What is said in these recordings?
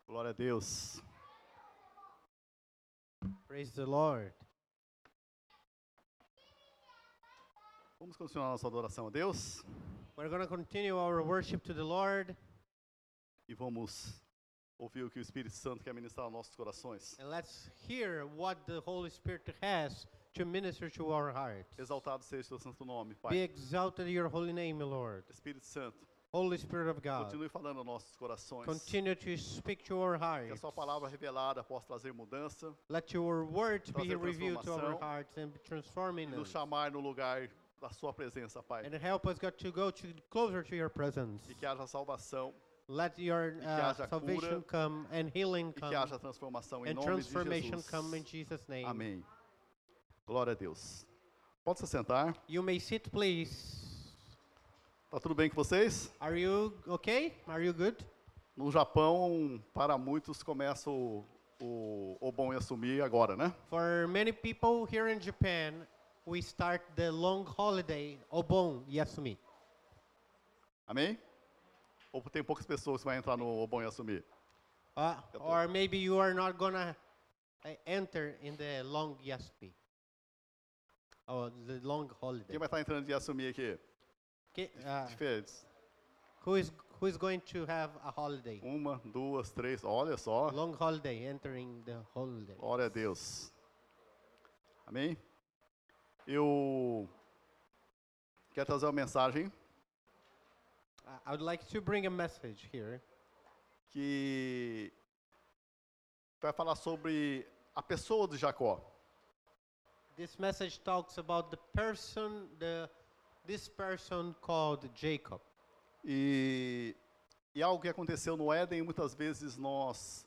Glória a Deus. Praise the Lord. Vamos continuar nossa adoração a Deus We're going to continue our worship to the Lord, e vamos ouvir o que o Espírito Santo quer ministrar aos nossos corações. and let's hear what the Holy Spirit has to minister to our hearts. Exaltado seja o teu santo nome, Be Pai. exalted your holy name, Lord. Espírito Santo, Holy Spirit of God, continue falando aos nossos corações. continue to speak to our Que a hearts. sua palavra revelada possa trazer mudança Let your words be trazer revealed to our transformação hearts and e transforming nos us. chamar no lugar da sua presença, Pai. And help us, God, to go closer to your presence. E que haja salvação Let your que haja salvation cura, come and healing e que come haja transformação em and nome de transformation Jesus. come in Jesus' name. Amém. Glória a Deus. Pode se sentar. You may sit, please. Tá tudo bem com vocês? Are you okay? Are you good? No Japão, para muitos, começa o bom e assumir agora, né? For many people here in Japan, we start the long holiday, Obon Yasumi. Amém? Ou tem poucas pessoas que vão entrar no bom e assumir? Or maybe you are not gonna enter in the long Yasumi. Or the long holiday. Quem vai estar entrando de assumir aqui? Diferentes. Who is going to have a holiday? Uma, duas, três. Olha só. Long holiday, entering the holiday. Glória a Deus. Amém? Eu quero trazer uma mensagem I would like to bring a message here que vai falar sobre a pessoa de Jacó. This message talks about this person called Jacob. E algo que aconteceu no Éden, muitas vezes nós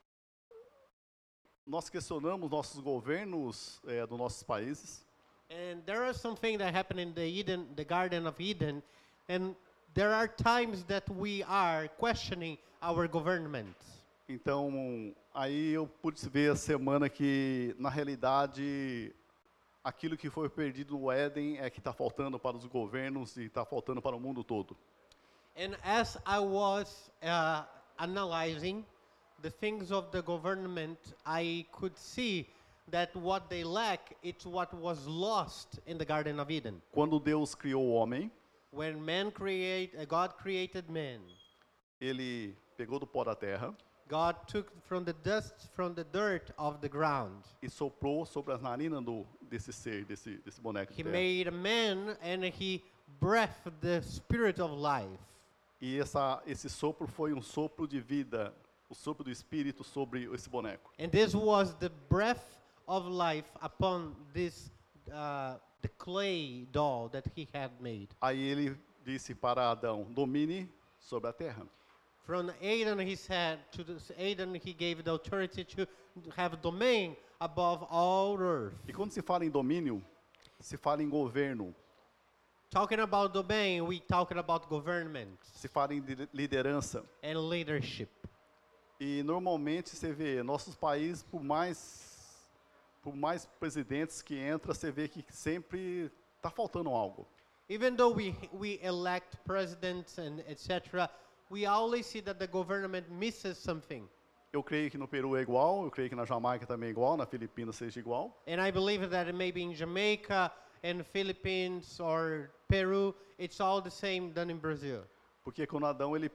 questionamos nossos governos dos nossos países. And there is something that happened in the Garden of Eden, and there are times that we are questioning our government. Então, aí eu pude ver a semana que, na realidade, aquilo que foi perdido no Éden é que está faltando para os governos e está faltando para o mundo todo. And as I was analyzing the things of the government, I could see that what they lack, it's what was lost in the Garden of Eden. Quando Deus criou o homem, When God created man, ele pegou do pó da terra God took from the dust, from the dirt of the ground. e soprou sobre as narinas desse ser, desse boneco de He terra. made a man and he breathed the spirit of life. E esse sopro foi um sopro de vida, o sopro do Espírito sobre esse boneco. And this was the breath of life upon this the clay doll that he had made. Aí ele disse para Adão, domine sobre a terra. From Adam he said to Adam he gave the authority to have domain above all earth. E quando se fala em domínio, se fala em governo, Talking about domain, we talking about government se fala em liderança. and leadership. E normalmente você vê, nossos países, por mais presidentes que entram, você vê que sempre está faltando algo. Even though we elect presidents and etc., we always see that the government misses something. Eu creio que no Peru é igual, eu creio que na Jamaica também é igual, na Filipinas seja igual. And I believe that maybe in Jamaica and Philippines or Peru, it's all the same than in Brazil. Porque quando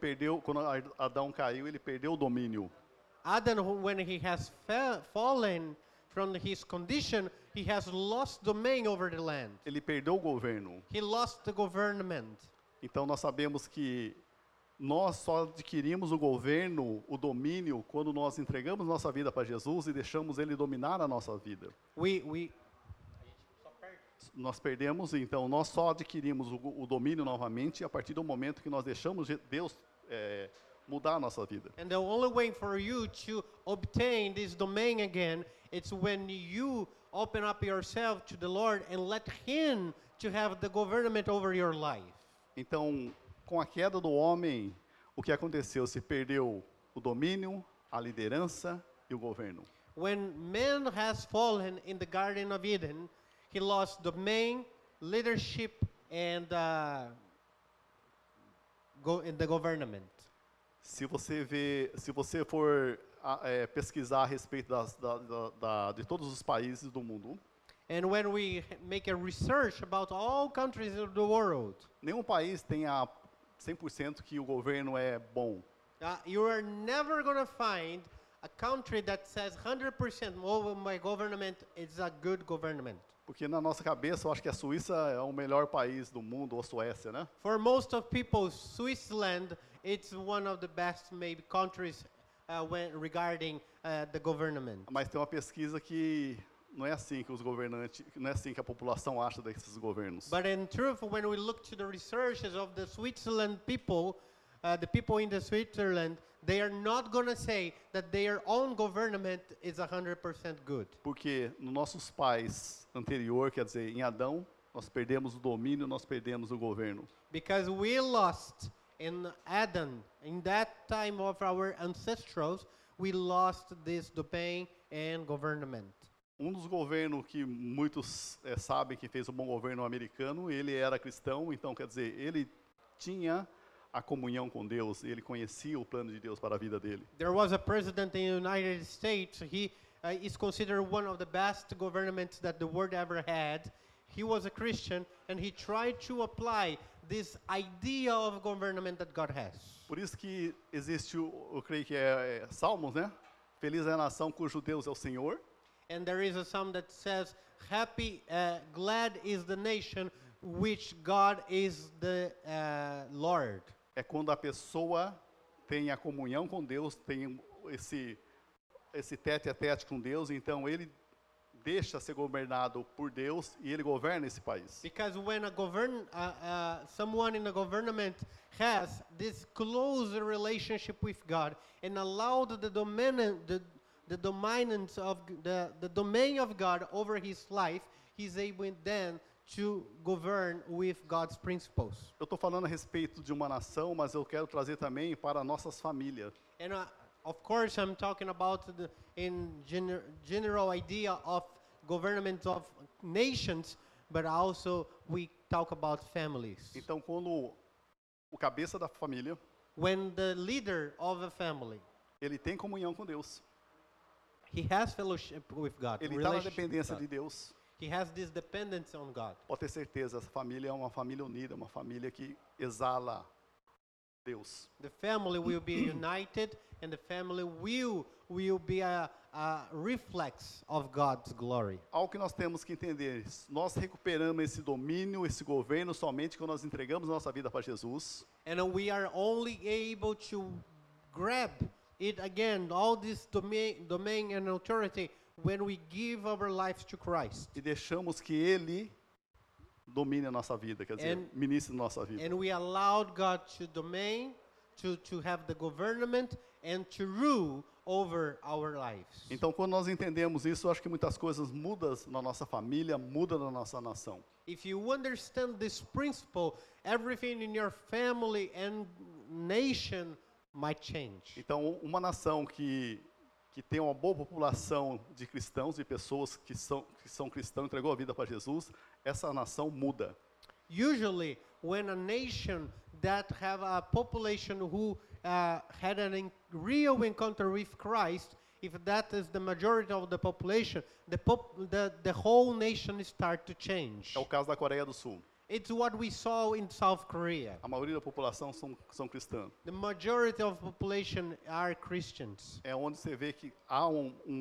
Adão caiu, ele perdeu o domínio. Adam, when he has fallen from his condition, he has lost domain over the land. Ele perdeu o governo. He lost the government. Então nós sabemos que nós só adquirimos o governo, o domínio, quando nós entregamos nossa vida para Jesus e deixamos Ele dominar a nossa vida. Nós perdemos, então nós só adquirimos o domínio novamente a partir do momento que nós deixamos Deus mudar a nossa vida. And the only way for you to obtain this domain again, it's when you open up yourself to the Lord and let Him to have the government over your life. Então, com a queda do homem, o que aconteceu? Se perdeu o domínio, a liderança e o governo. When man has fallen in the Garden of Eden, he lost domain, leadership, and the government. Se você for pesquisar a respeito de todos os países do mundo, And when we make a research about all countries of the world, nenhum país tem a 100% que o governo é bom. you are never going to find a country that says 100% oh, my government is a good government. Porque na nossa cabeça, eu acho que a Suíça é o melhor país do mundo, ou a Suécia, né? For most of people, Switzerland it's one of the best maybe countries regarding the government. Mas tem uma pesquisa que não é assim que os governantes, não é assim que a população acha desses governos. But in truth, when we look to the researches of the Switzerland people, the people in the Switzerland, they are not going to say that their own government is 100% good. Porque nos nossos pais anterior, quer dizer, em Adão, nós perdemos o domínio, nós perdemos o governo. Because we lost in Adam, in that time of our ancestors, we lost this domain and government. Dos governos que muitos sabem que fez um bom governo americano, ele era cristão, então quer dizer, ele tinha a comunhão com Deus, ele conhecia o plano de Deus para a vida dele. There was a president in the United States, he is considered one of the best governments that the world ever had. He was a Christian and he tried to apply this idea of government that God has. Por isso que existe, eu creio que é Salmos, né? Feliz é a nação cujo Deus é o Senhor. And there is a psalm that says, happy, glad is the nation which God is the Lord. É quando a pessoa tem a comunhão com Deus, tem esse tete a tete com Deus, então ele deixa ser governado por Deus e ele governa esse país. Because when someone in the government has this close relationship with God and allowed the dominance of the domain of God over his life, he's able then to govern with God's principles. Eu estou falando a respeito de uma nação, mas eu quero trazer também para nossas famílias. And of course, I'm talking about general idea of government of nations, but also we talk about families. Então, quando o cabeça da família, When the leader of a family, ele tem comunhão com Deus, he has fellowship with God. ele está na relationship with dependência God. de Deus, He has this dependence on God. pode ter certeza, essa família é uma família unida, uma família que exala Deus. The family will be united, and the family will be a reflex of God's glory. Algo que nós temos que entender, nós recuperamos esse domínio, esse governo somente quando nós entregamos nossa vida para Jesus. And we are only able to grab it again, all this domain and authority, when we give our lives to Christ. E deixamos que Ele domine a nossa vida, quer dizer, ministre nossa vida. And we allowed God to domain, to have the government, and to rule over our lives. Então, quando nós entendemos isso, eu acho que muitas coisas mudam na nossa família, mudam na nossa nação. If you understand this principle, everything in your family and nation might change. Então, uma nação que tem uma boa população de cristãos, de pessoas que são cristãos, entregou a vida para Jesus, essa nação muda. Usually, when a nation that have a population who had a real encounter with Christ, if that is the majority of the population, the whole nation start to change. É o caso da Coreia do Sul. It's what we saw in South Korea. A maioria da população são cristãs. The majority of population are Christians. É onde você vê que há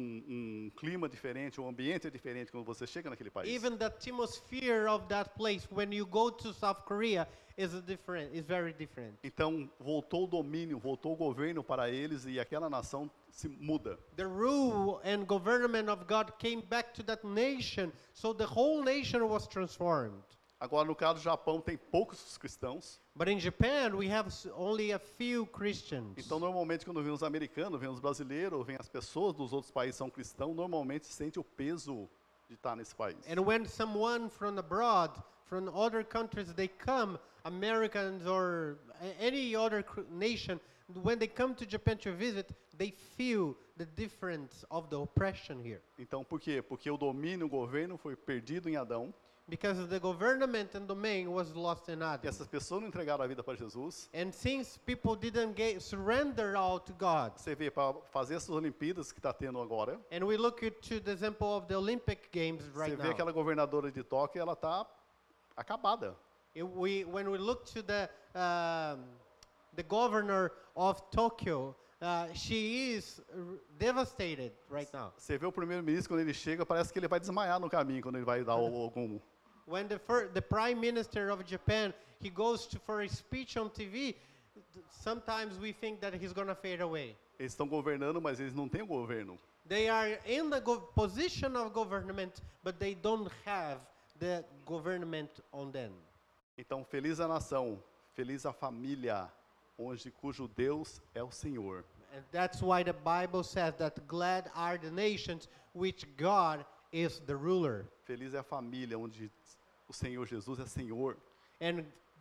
um clima diferente, um ambiente diferente quando você chega naquele país. Even the atmosphere of that place when you go to South Korea is very different. Então, voltou o domínio, voltou o governo para eles e aquela nação se muda. The rule and government of God came back to that nation, so the whole nation was transformed. Agora, no caso do Japão, tem poucos cristãos. But in Japan, we have only a few Christians. Então, normalmente, quando vem os americanos, vem os brasileiros, vem as pessoas dos outros países que são cristãos, normalmente sente o peso de estar nesse país. And when someone from abroad, from other countries, they come, Americans or any other nation, when they come to Japan to visit, they feel the difference of the oppression here. Então, por quê? Porque o domínio, o governo foi perdido em Adão. Because the government and domain was lost in E Adam. essas pessoas não entregaram a vida para Jesus. And since people didn't surrender all to God, Você vê, para fazer essas Olimpíadas que está tendo agora, and we look to the example of the Olympic Games você right vê now. aquela governadora de Tóquio, ela está acabada. When we look to the governor of Tokyo, she is devastated right now. Você vê o primeiro-ministro, quando ele chega, parece que ele vai desmaiar no caminho, quando ele vai dar algum... When the prime minister of Japan, he goes for a speech on TV, sometimes we think that he's going to fade away. Eles estão governando, mas eles não têm o governo. They are in the position of government, but they don't have the government on them. Então, feliz a nação, feliz a família, cujo Deus é o Senhor. And that's why the Bible says that glad are the nations which God is the ruler. Feliz é a família onde o Senhor Jesus é Senhor. And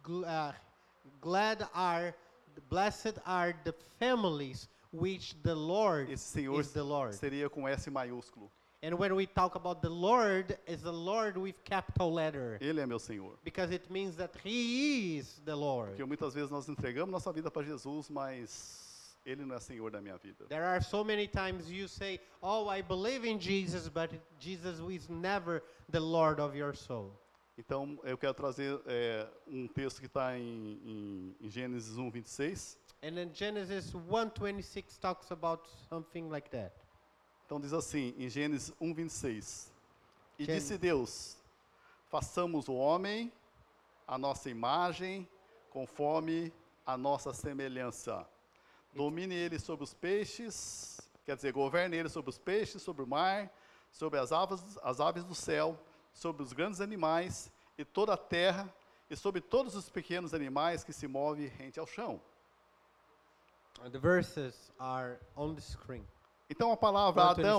blessed are the families which the Lord Esse Senhor is the Lord. seria com S maiúsculo. And when we talk about the Lord, it's the Lord with capital letter. Ele é meu Senhor. Because it means that He is the Lord. Porque muitas vezes nós entregamos nossa vida para Jesus, mas Ele não é Senhor da minha vida. There are so many times you say, oh, I believe in Jesus, but Jesus is never the Lord of your soul. Então, eu quero trazer um texto que está em Gênesis 1:26. And then Genesis 1:26 talks about something like that. Então diz assim, em Gênesis 1:26. E Gênesis. disse Deus, façamos o homem à nossa imagem, conforme a nossa semelhança. Domine ele sobre os peixes, quer dizer, governe ele sobre os peixes, sobre o mar, sobre as aves do céu, sobre os grandes animais e toda a terra, e sobre todos os pequenos animais que se movem rente ao chão. The verses are on the screen. Então a palavra Adão,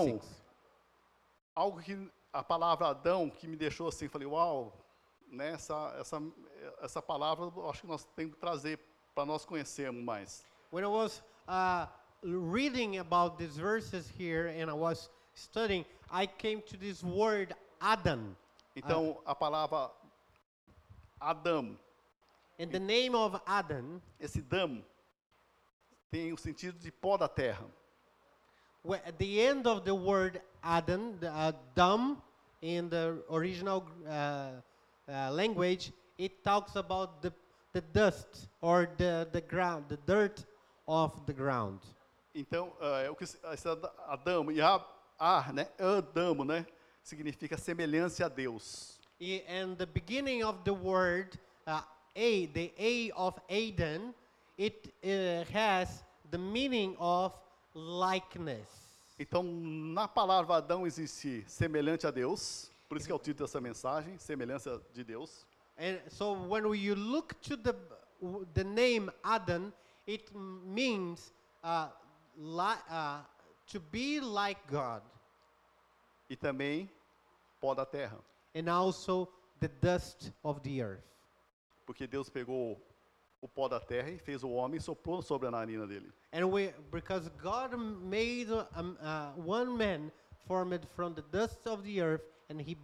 1:26. a palavra Adão que me deixou assim, falei, uau, né, essa palavra eu acho que nós temos que trazer para nós conhecermos mais. When I was reading about these verses here and I was studying, I came to this word Adam. Então a palavra Adão, And the name of Adam, esse Dam, tem o sentido de pó da terra. at the end of the word Adam, the Dam, in the original language, it talks about the dust or the ground, the dirt of the ground. Então, o que esse Adão e né, Adamo, né, significa semelhança a Deus. And the beginning of the word the A of Adam, it has the meaning of likeness. Então, na palavra Adão existe semelhante a Deus, por isso que é o título dessa mensagem, semelhança de Deus. And so when you look to the name Adam, it means to be like God, E também pó da terra, and also the dust of the earth. porque Deus pegou o pó da terra e fez o homem e soprou sobre a narina dele. And because God made one man formed from the dust of the earth, and he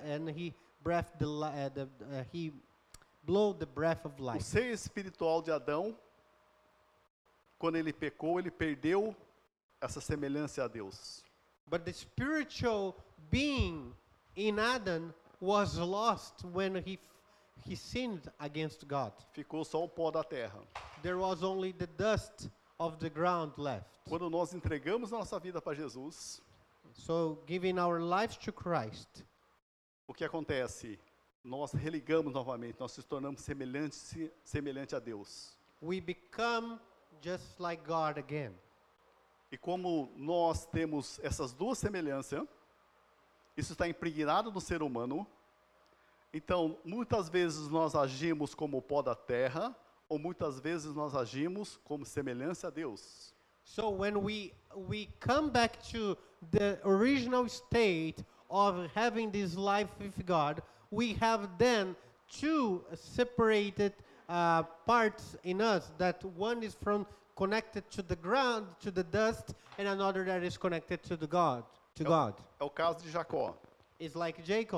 blew the breath of O life. ser espiritual de Adão, quando ele pecou, ele perdeu essa semelhança a Deus. But the spiritual being in Adam was lost when he sinned against God. Ficou só o pó da terra. There was only the dust of the ground left. Quando nós entregamos a nossa vida para Jesus, So giving our lives to Christ, o que acontece? Nós religamos novamente, nós nos tornamos semelhante a Deus. we become just like God again. E como nós temos essas duas semelhanças, isso está impregnado no ser humano. Então, muitas vezes nós agimos como o pó da terra, ou muitas vezes nós agimos como semelhança a Deus. So when we come back to the original state of having this life with God, we have then two separated parts in us. That one is connected to the ground, to the dust, and another that is connected to God. É o caso de Jacó. It's like Jacob.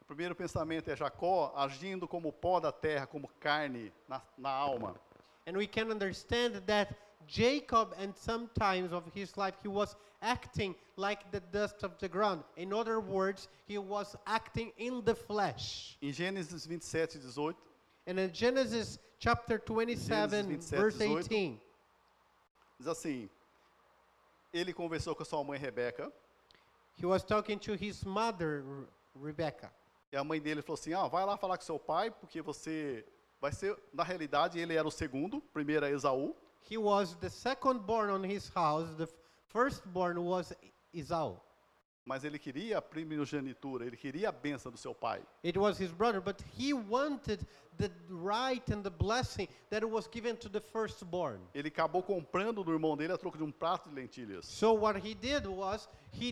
primeiro pensamento é Jacó agindo como pó da terra, como carne na alma. And we can understand that Jacob, and sometimes of his life, he was acting like the dust of the ground. In other words, he was acting in the flesh. Em Gênesis 27:18, And in Genesis chapter 27, Gênesis 27, verse 18. 18, diz assim: ele conversou com a sua mãe Rebeca, he was talking to his mother, Rebecca. e a mãe dele falou assim: vai lá falar com seu pai, porque você vai ser, na realidade, ele era o segundo, primeiro é Esaú, He was the second born on his house. The firstborn was Esau. mas ele queria a primogenitura, ele queria a bênção do seu pai. It was his brother, but he wanted the right and the blessing that was given to the firstborn. Ele acabou comprando do irmão dele a troco de um prato de lentilhas. So what he did was he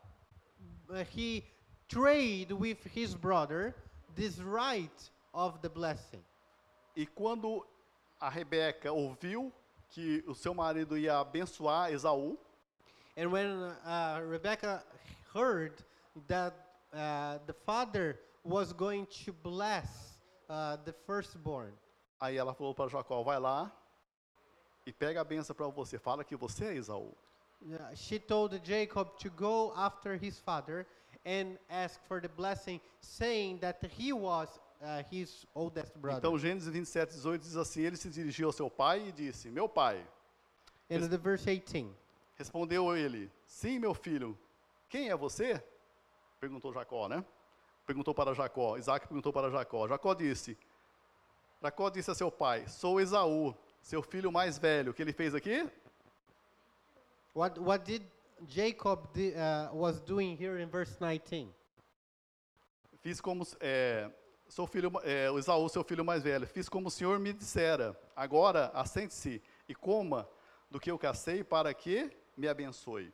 traded with his brother this right of the blessing. E quando a Rebeca ouviu que o seu marido ia abençoar Esaú, And when Rebecca heard that the father was going to bless the firstborn, aí ela falou para Jacó: vai lá e pega a bênção para você, fala que você é Esaú. she told Jacob to go after his father and ask for the blessing, saying that he was his oldest brother. Então Gênesis 27:18 diz assim: ele se dirigiu ao seu pai e disse: meu pai. And the verse 18. Respondeu ele: sim, meu filho. Quem é você? Perguntou Jacó, né? Perguntou para Jacó. Isaac perguntou para Jacó. Jacó disse a seu pai: sou Esaú, seu filho mais velho. O que ele fez aqui? What did Jacob was doing here in verse 19? Fiz como sou filho, o Esaú, seu filho mais velho. Fiz como o Senhor me dissera. Agora assente-se e coma do que eu cacei, para que me abençoe.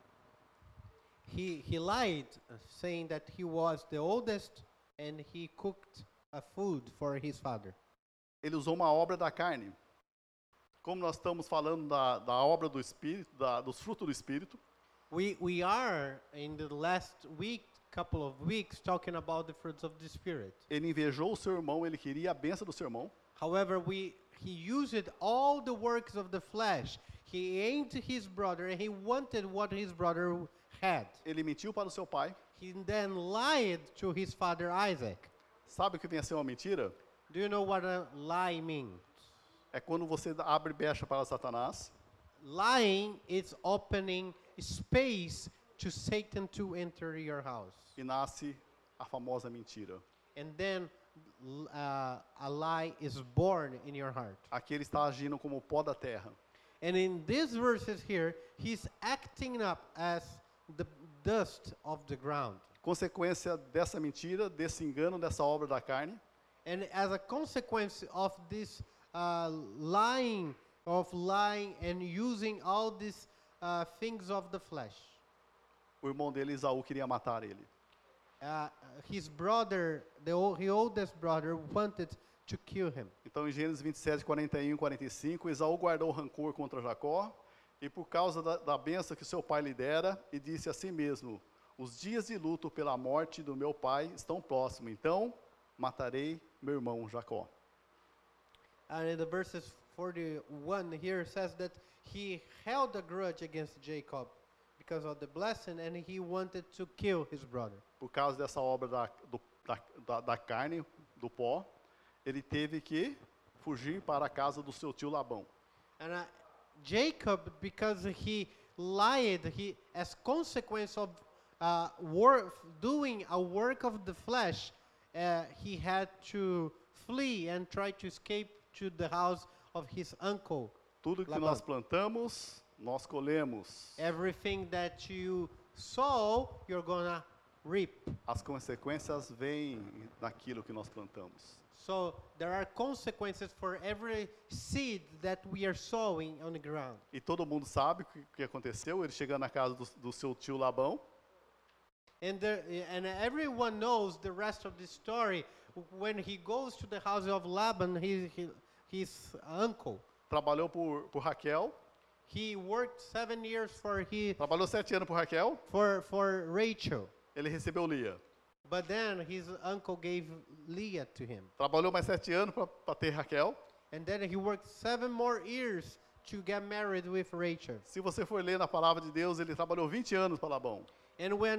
He lied, saying that he was the oldest, and he cooked a food for his father. Ele usou uma obra da carne. Como nós estamos falando da obra do Espírito, dos frutos do Espírito, We are in the last couple of weeks, talking about the fruits of the Spirit. ele invejou o seu irmão, ele queria a bênção do seu irmão. However, he used all the works of the flesh. He aimed his brother, and he wanted what his brother had. Ele mentiu para o seu pai. He then lied to his father Isaac. Sabe o que vem a ser uma mentira? Do you know what a lie means? É quando você abre brecha para Satanás. Lying is opening space to Satan to enter your house. E nasce a famosa mentira. And then a lie is born in your heart. Aqui ele está agindo como o pó da terra. And in these verses here, he's acting up as the dust of the ground. Consequência dessa mentira, desse engano, dessa obra da carne, And as a consequence of this lying and using all these things of the flesh, o irmão dele, Esaú, queria matar ele. his brother, his oldest brother, wanted to kill him. Então, em Gênesis 27:41 e 45, Esaú guardou rancor contra Jacó, e por causa da bênção que seu pai lhe dera, e disse a si mesmo: os dias de luto pela morte do meu pai estão próximos, então matarei meu irmão Jacó. And in the verses 41 here says that he held a grudge against Jacob because of the blessing, and he wanted to kill his brother. Por causa dessa obra da carne, do pó, ele teve que fugir para a casa do seu tio Labão. And Jacob, because he lied, as consequence of doing a work of the flesh, he had to flee and try to escape to the house of his uncle. Tudo que Labão. nós plantamos, nós colhemos. Everything that you sow, you're gonna reap. As consequências vêm naquilo que nós plantamos. So there are consequences for every seed that we are sowing on the ground. E todo mundo sabe o que aconteceu, ele chegando na casa do seu tio Labão. And everyone knows the rest of the story. When he goes to the house of Laban, his uncle, Trabalhou por Raquel, he worked 7 years trabalhou 7 anos por Raquel, for Rachel. ele recebeu Lia. But then his uncle gave Leah to him. Trabalhou mais 7 anos para ter Raquel. And then he worked 7 more years to get married with Rachel. Se você for ler na palavra de Deus, ele trabalhou 20 anos para Labão. And when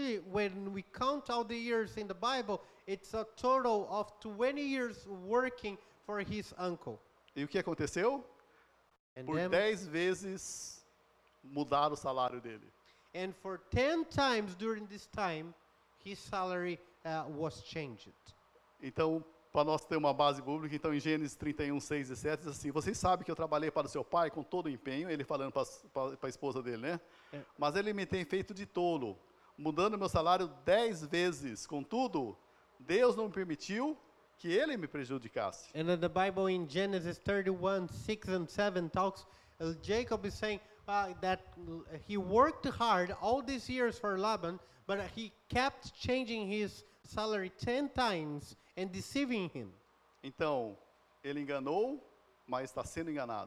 we count all the years in the Bible, it's a total of 20 years working for his uncle. E o que aconteceu? And Por then, 10 vezes mudaram o salário dele. and for 10 times during this time, his salary was changed. Então, para nós ter uma base bíblica, então em Gênesis 31, 6 e 7, diz assim, vocês sabem que eu trabalhei para o seu pai com todo o empenho, ele falando para a esposa dele, né? É. Mas ele me tem feito de tolo, mudando meu salário 10 vezes. Contudo, Deus não permitiu que ele me prejudicasse. And in the Bible in Genesis 31, 6 and 7 talks, Jacob is saying that he worked hard all these years for Laban, but he kept changing his salary 10 times and deceiving him. Então, ele enganou, mas está sendo enganado.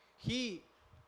He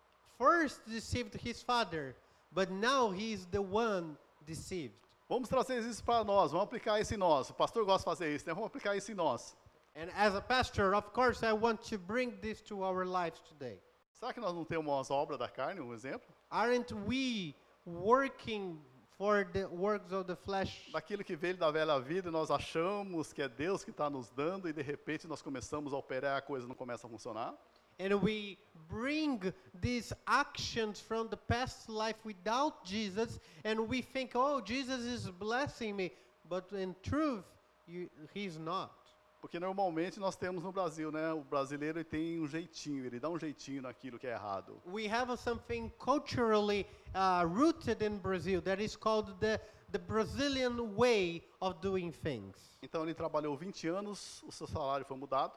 first deceived his father, but now he is the one deceived. Vamos trazer isso para nós, vamos aplicar isso em nós. O pastor gosta de fazer isso, né? Vamos aplicar isso em nós. And as a pastor, of course, I want to bring this to our lives today. Será que nós não temos umas obras da carne, um exemplo? Aren't we working for the works of the flesh? Daquilo que veio da velha vida, nós achamos que é Deus que está nos dando e de repente nós começamos a operar e a coisa não começa a funcionar. And we bring these actions from the past life without Jesus, and we think, oh, Jesus is blessing me. But in truth, he's not. Porque normalmente nós temos no Brasil, né? O brasileiro ele tem um jeitinho, ele dá um jeitinho naquilo que é errado. We have something culturally rooted in Brazil that is called the Brazilian way of doing things. Então ele trabalhou 20 anos, o seu salário foi mudado.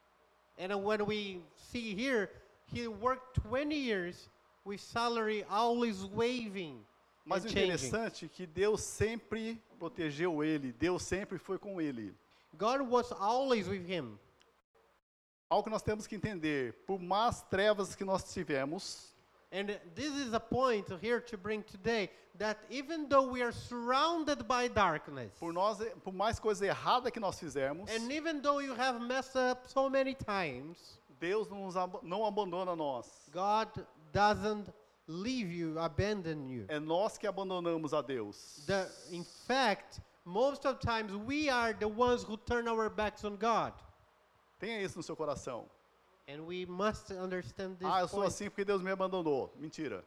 And when we see here, he worked 20 years with salary always waving Mas and o changing. interessante é que Deus sempre protegeu ele, Deus sempre foi com ele. God was always with him. Algo que nós temos que entender, por mais trevas que nós tivemos, And this is a point here to bring today, that even though we are surrounded by darkness, por mais coisa errada que nós fizermos, and even though you have messed up so many times, Deus não abandona nós. God doesn't leave you, abandon you. É nós que abandonamos a Deus. In fact, most of times we are the ones who turn our backs on God. Tenha isso no seu coração. And we must understand this Eu sou point. assim porque Deus me abandonou. Mentira.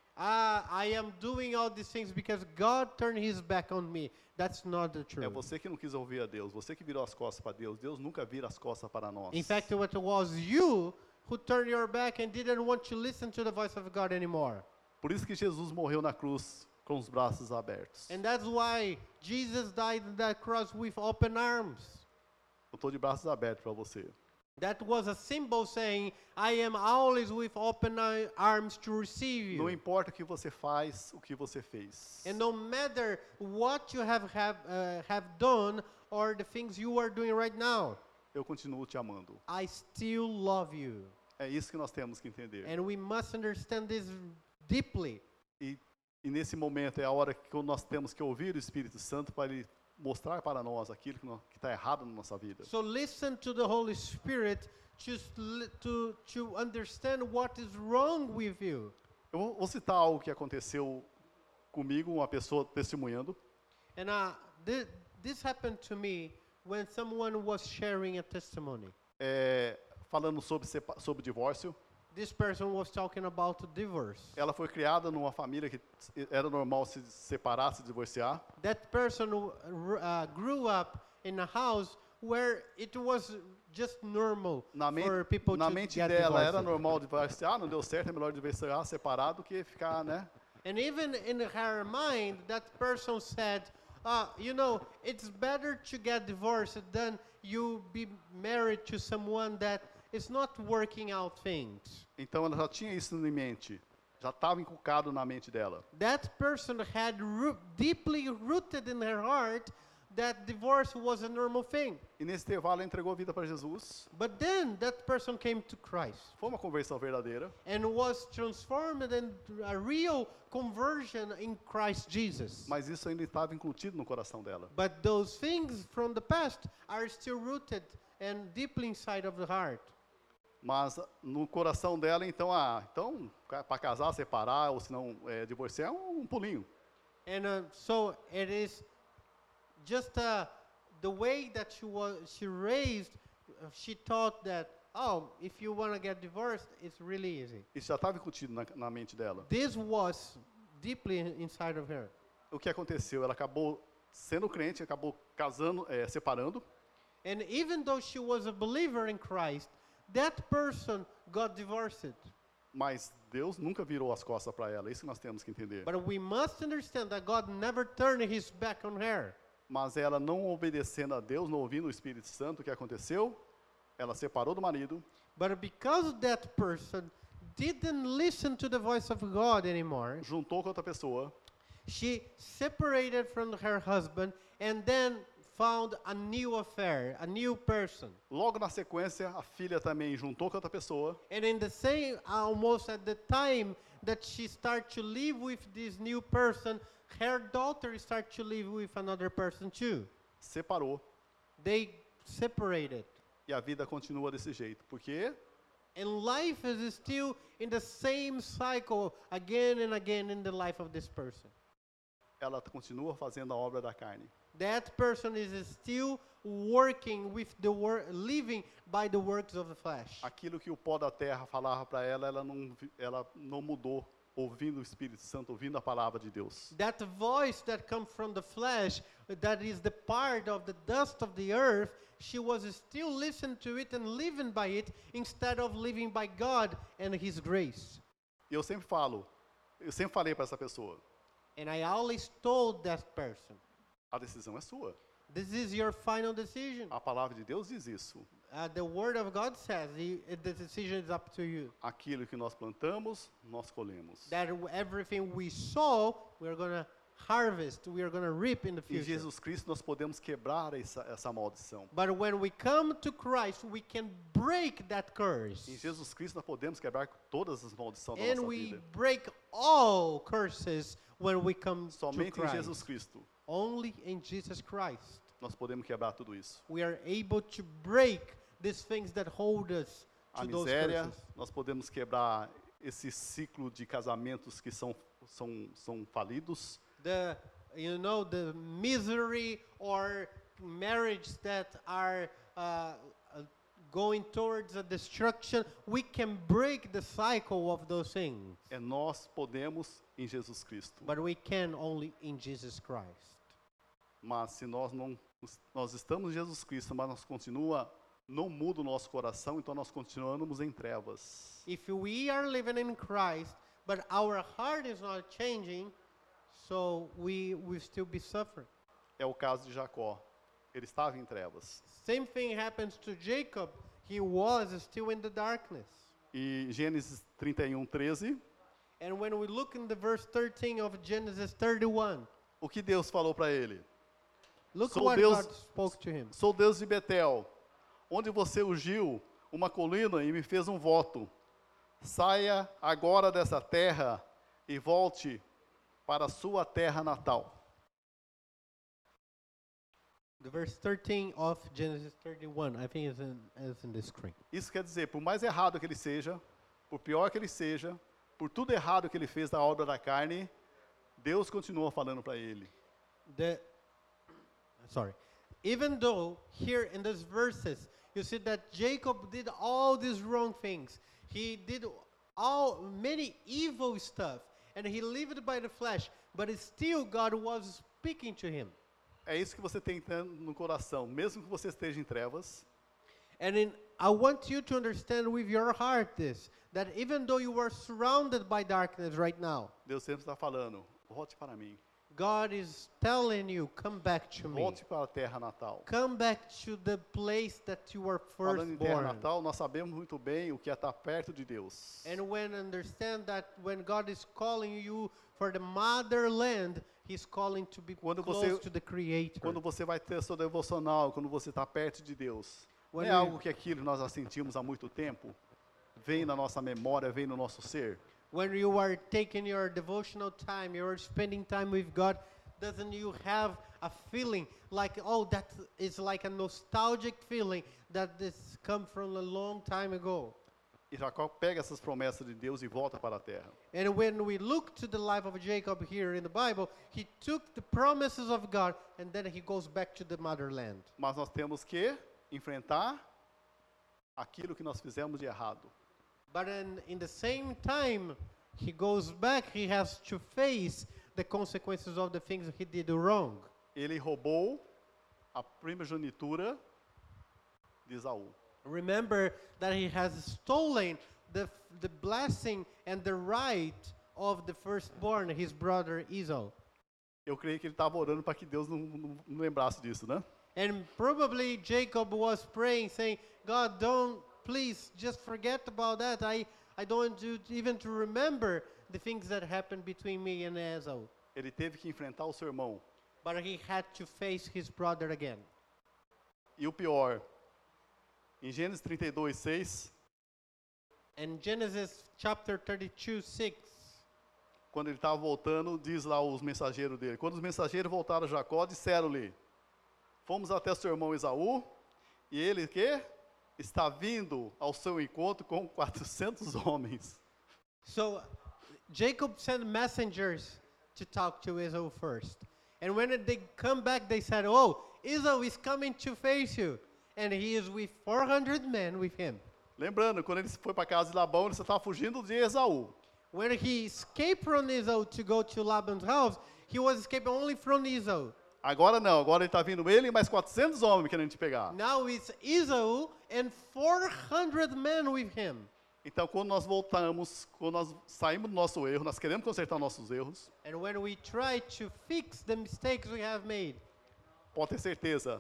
I am doing all these things because God turned his back on me. That's not the É truth. você que não quis ouvir a Deus, você que virou as costas para Deus. Deus nunca vira as costas para nós. In fact, it was you who turned your back and didn't want to listen to the voice of God anymore. Por isso que Jesus morreu na cruz com os braços abertos. And that's why Jesus died on that cross with open arms. Eu estou de braços abertos para você. That was a symbol saying, I am always with open arms to receive you. Não importa o que você faz, o que você fez. And no matter what you have done or the things you are doing right now, Eu continuo te amando. I still love you. É isso que nós temos que entender. And we must understand this deeply. E nesse momento é a hora que nós temos que ouvir o Espírito Santo para ele mostrar para nós aquilo que está errado na nossa vida. So listen to the Holy Spirit to understand what is wrong with you. Eu vou citar algo que aconteceu comigo, uma pessoa testemunhando. And this happened to me when someone was sharing a testimony. Falando sobre divórcio. This person was talking about divorce. Ela foi criada numa família que era normal se separar, se divorciar. That person grew up in a house where it was just normal for people Na to mente get dela divorced. era normal divorciar, não deu certo, é melhor divorciar, separar do que ficar, né? And even in her mind, that person said, it's better to get divorced than you be married to someone that is not working out things. Então ela já tinha isso em mente, já estava inculcado na mente dela. That person had deeply rooted in her heart that divorce was a normal thing. E nesse intervalo ela entregou a vida para Jesus. But then that person came to Christ Foi uma conversão verdadeira. and was transformed into a real conversion in Christ Jesus. Mas isso ainda estava incutido no coração dela. But those things from the past are still rooted and deeply inside of the heart. Mas no coração dela, então, para casar, separar, ou se não divorciar, é um pulinho. And so it is just the way that she raised, she thought that, oh, if you want to get divorced, it's really easy. Isso já estava incutido na mente dela. This was deeply inside of her. O que aconteceu? Ela acabou sendo crente, acabou casando, separando. And even though she was a believer in Christ, that person got divorced. Mas Deus nunca virou as costas para ela. Isso que nós temos que entender. But we must understand that God never turned his back on her. Mas ela não obedecendo a Deus, não ouvindo o Espírito Santo, o que aconteceu? Ela separou do marido. But because that person didn't listen to the voice of God anymore, Juntou com outra pessoa. she separated from her husband and then found a new affair, a new person. Logo na sequência, a filha também juntou com outra pessoa. And in the same, almost at the time that she started to live with this new person, her daughter started to live with another person too. Separou. They separated. E a vida continua desse jeito. Por quê? And life is still in the same cycle again and again in the life of this person. Ela continua fazendo a obra da carne. That person is still working with the living by the works of the flesh. Aquilo que o pó da terra falava para ela, ela não mudou, ouvindo o Espírito Santo, ouvindo a palavra de Deus. That voice that comes from the flesh, that is the part of the dust of the earth, she was still listening to it and living by it instead of living by God and His grace. E eu sempre falei para essa pessoa, And I always told that person, a decisão é sua. this is your final decision. A palavra de Deus diz isso. The word of God says the decision is up to you. Aquilo que nós plantamos, nós colhemos. That everything we sow, we're going to harvest, we are going to reap in the Em future. Jesus Cristo nós podemos quebrar essa maldição. But when we come to Christ, we can break that curse. Em Jesus Cristo nós podemos quebrar todas as maldições da And nossa we vida. break all curses when we come to Somente em Jesus Christ. Cristo Only in Jesus Christ. nós podemos quebrar tudo isso. We are able to break these things that hold us A to those miséria, curses. nós podemos quebrar esse ciclo de casamentos que são falidos. The misery or marriage that are going towards a destruction, we can break the cycle of those things. Nós podemos em Jesus Cristo. But we can only in Jesus Christ. Mas se nós estamos em Jesus Cristo, mas não muda o nosso coração, então nós continuamos em trevas. If we are living in Christ, but our heart is not changing, so we will still be suffering. É o caso de Jacó. Ele estava em trevas. Same thing happens to Jacob. He was still in the darkness. E Gênesis 31:13, And when we look in the verse 13 of Genesis 31, o que Deus falou para ele? look Sou what Deus- God spoke to him. Sou Deus de Betel, onde você ungiu uma colina e me fez um voto. Saia agora dessa terra e volte para a sua terra natal. The verse 13 of Genesis 31, I think is in the screen. Isso quer dizer, por mais errado que ele seja, por pior que ele seja, por tudo errado que ele fez da obra da carne, Deus continua falando para ele. Even though here in these verses, you see that Jacob did all these wrong things. He did many evil stuff, and he lived by the flesh, but still God was speaking to him. É isso que você tem no coração, mesmo que você esteja em trevas, And I want you to understand with your heart this, that even though you are surrounded by darkness right now, Deus sempre está falando, volte para mim, God is telling you, come back to me. volte para a terra natal. Come back to the place that you were first Falando em terra born. natal, nós sabemos muito bem o que é estar perto de Deus. And when understand that when God is calling you for the motherland, He's calling to be Quando close você- to the Creator. Quando você vai ter seu devocional, quando você está perto de Deus, não When é we- algo que aquilo nós já sentimos há muito tempo? Vem na nossa memória, vem no nosso ser. When you are taking your devotional time, you are spending time with God, doesn't you have a feeling like, oh, that is like a nostalgic feeling that this come from a long time ago? E Jacó pega essas promessas de Deus e volta para a terra. And when we look to the life of Jacob here in the Bible, he took the promises of God and then he goes back to the motherland. Mas nós temos que enfrentar aquilo que nós fizemos de errado. But in the same time, he goes back, he has to face the consequences of the things he did wrong. Ele roubou a primogenitura de Esaú. Remember that he has stolen the blessing and the right of the firstborn, his brother Esau. Eu creio que ele estava orando para que Deus não lembrasse disso, né? And probably Jacob was praying, saying, God, don't, please, just forget about that. I don't want you even to remember the things that happened between me and Esau. Ele teve que enfrentar o seu irmão. But he had to face his brother again. E o pior, em Gênesis 32:6, And Genesis chapter 32:6, quando ele estava voltando, diz lá os mensageiros dele. Quando os mensageiros voltaram a Jacó, disseram-lhe: Fomos até seu irmão Esaú, e ele que está vindo ao seu encontro com 400 homens. so Jacob sent messengers to talk to Esau first. And when they come back, they said, oh, Esau is coming to face you. And he is with 400 men with him. Lembrando, quando ele foi para a casa de Labão, ele estava fugindo de Esaú. When he escaped from Esau to go to Laban's house, he was escaping only from Esau. Agora não, agora ele está vindo ele e mais 400 homens querendo te pegar. Now it's Esau and 400 men with him. Então, quando nós voltamos, quando nós saímos do nosso erro, nós queremos consertar nossos erros, And when we try to fix the mistakes we have made, pode ter certeza,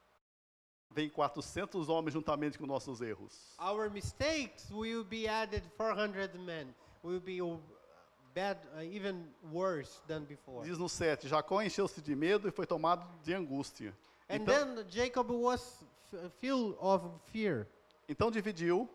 vem 400 homens juntamente com nossos erros. our mistakes will be added 400 men. Will be bad, even worse than before. Diz no 7, Jacó encheu-se de medo e foi tomado de angústia. And Então, then Jacob was filled of fear. então dividiu,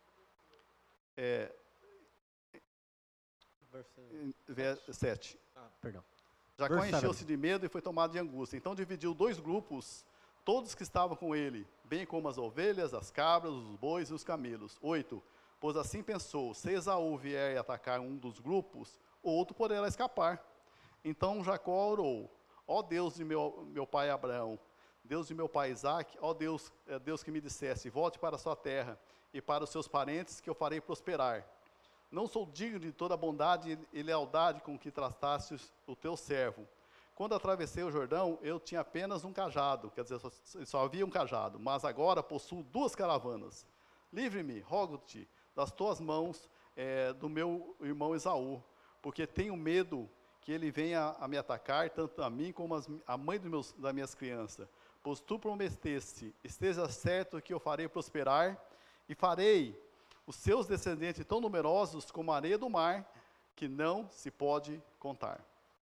verso 7. Perdão. Jacó Verse encheu-se de medo e foi tomado de angústia. Então dividiu dois grupos, todos que estavam com ele, bem como as ovelhas, as cabras, os bois e os camelos. 8. Pois assim pensou, se Esaú vier e atacar um dos grupos, o outro poderá escapar. Então Jacó orou, ó Deus de meu pai Abraão, Deus de meu pai Isaque, ó Deus, Deus que me dissesse, volte para a sua terra e para os seus parentes, que eu farei prosperar. Não sou digno de toda a bondade e lealdade com que trataste o teu servo. Quando atravessei o Jordão, eu tinha apenas um cajado, quer dizer, só havia um cajado, mas agora possuo 2 caravanas. Livre-me, rogo-te, das tuas mãos do meu irmão Esaú, porque tenho medo que ele venha a me atacar, tanto a mim como a mãe das minhas crianças. Pois tu prometeste, esteja certo que eu farei prosperar, e farei os seus descendentes tão numerosos como a areia do mar, que não se pode contar.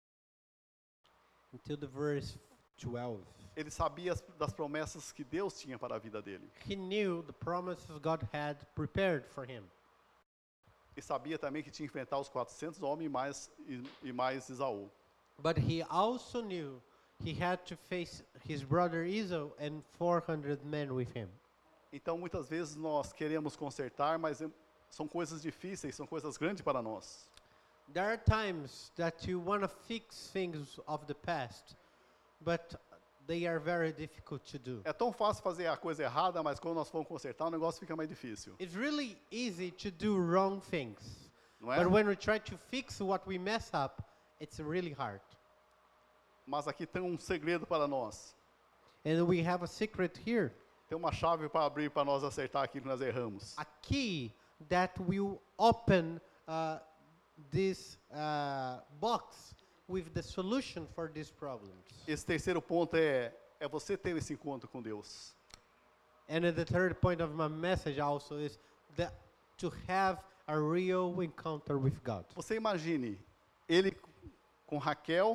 Until the verse 12. Ele sabia das promessas que Deus tinha para a vida dele. He knew the promises God had prepared for him. E sabia também que tinha que enfrentar os 400 homens e mais Esaú. But he also knew he had to face his brother Esau and 400 men with him. Então, muitas vezes nós queremos consertar, mas são coisas difíceis, são coisas grandes para nós. There are times that you want to fix things of the past, but they are very difficult to do. É tão fácil fazer a coisa errada, mas quando nós vamos consertar, o negócio fica mais difícil. It's really easy to do wrong things, Não é? but when we try to fix what we mess up, it's really hard. Mas aqui tem um segredo para nós. And we have a secret here, Tem uma chave para abrir para nós acertar aquilo que nós erramos. a key that will open this box with the solution for these problems. Esse terceiro ponto é você ter esse encontro com Deus. And the third point of my message also is that to have a real encounter with God. Você imagine ele com Raquel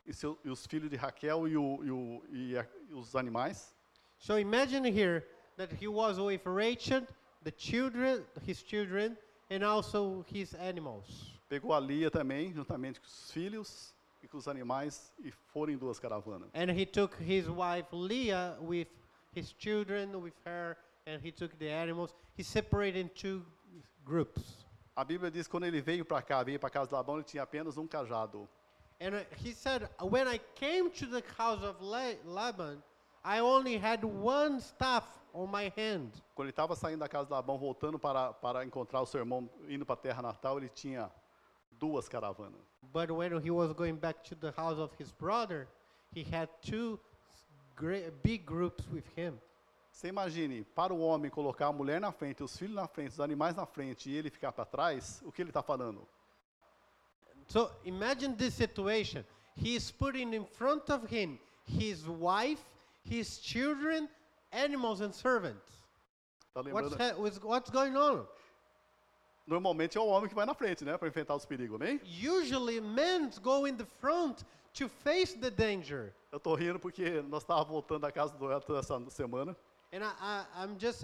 e os filhos de Raquel e os animais. So imagine here that he was with Rachel, his children, and also his animals. Pegou a Lia também, juntamente com os filhos e com os animais, e foram em 2 caravanas. And he took his wife Leah with his children, with her, and he took the animals. He separated in 2 groups. A Bíblia diz que quando ele veio para cá, veio para a casa de Labão, ele tinha apenas um cajado. And he said, when I came to the house of Laban, I only had 1 staff on my hand. Quando ele estava saindo da casa de Labão, voltando para encontrar o seu irmão, indo para a terra natal, ele tinha 2 caravanas. But when he was going back to the house of his brother, he had 2 big groups with him. Você imagine, para o homem colocar a mulher na frente, os filhos na frente, os animais na frente e ele ficar para trás, o que ele está falando? So imagine this situation. He is putting in front of him his wife, his children, animals and servants. Tá lembrando? What's going on? Normalmente é o homem que vai na frente, né, para enfrentar os perigos, amém? Usually men go in the front to face the danger. Eu tô rindo porque nós estávamos voltando da casa do Elton essa semana. And I'm just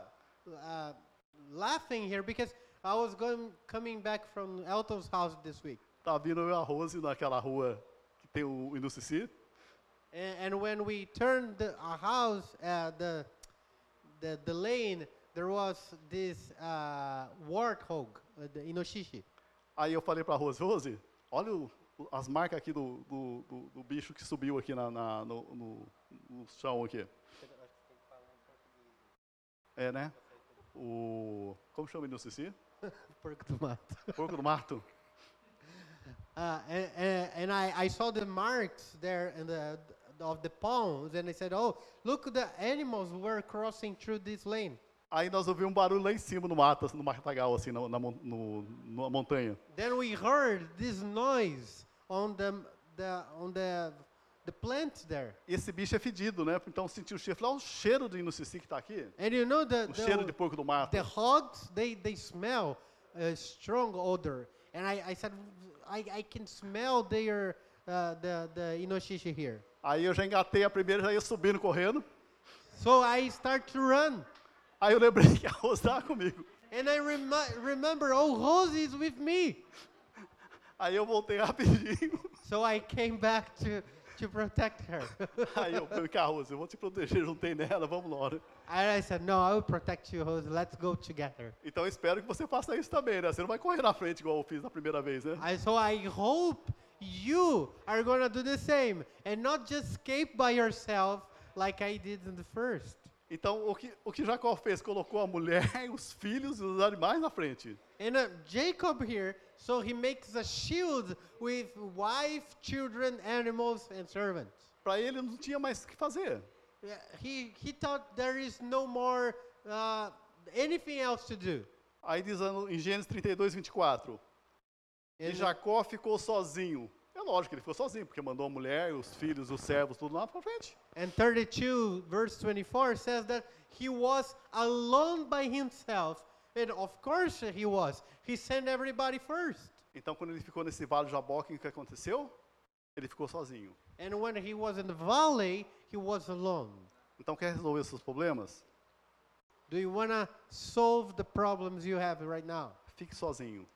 laughing here because I was coming back from Elton's house this week. Tá vindo eu e a Rose naquela rua que tem o Inucici. And when we turned our house, the lane, there was this warthog, the inoshishi. Aí eu falei para a Rose, Rose, olha as marcas aqui do bicho que subiu aqui no chão aqui. É, né? Como chama o Inucici? Porco do mato. Porco do mato. And I saw the marks there of the palms, and I said, "Oh, look, the animals were crossing through this lane." Aí nós ouvimos um barulho lá em cima no matagal, assim, na montanha. Then we heard this noise on the plants there. E esse bicho é fedido, né? Então sentiu o cheiro. Falei, o cheiro do Inucici que está aqui. And you know O cheiro de porco do mato. the hogs, they smell a strong odor. And I said, I can smell the inoshishi here. Aí eu já engatei a primeira, já ia subindo, correndo. So I start to run. Aí eu lembrei que a Rose estava comigo. And I remember, oh, Rose is with me. Aí eu voltei rapidinho. So I came back to protect her. Aí eu falei, Rose, eu vou te proteger, juntei nela, vamos lá. And I said, no, I will protect you, Rose. Let's go together. Então eu espero que você faça isso também, né? Você não vai correr na frente igual eu fiz na primeira vez, né? So I hope you are going to do the same and not just escape by yourself like I did in the first. Então o que Jacó fez? Colocou a mulher, os filhos e os animais na frente. And Jacob here, so he makes a shield with wife, children, animals, and servants. Para ele não tinha mais o que fazer. He thought there is no more anything else to do. Aí diz em Gênesis 32, 24. E Jacó ficou sozinho. É lógico que ele ficou sozinho, porque mandou a mulher, os filhos, os servos, tudo lá para frente. And 32, verse 24 says that he was alone by himself. And of course he was. He sent everybody first. Então quando ele ficou nesse vale de Jaboque, o que aconteceu? Ele ficou sozinho. And when he was in the valley, he was alone. Então quer resolver seus problemas? Do you want to solve the problems you have right now? Fique sozinho.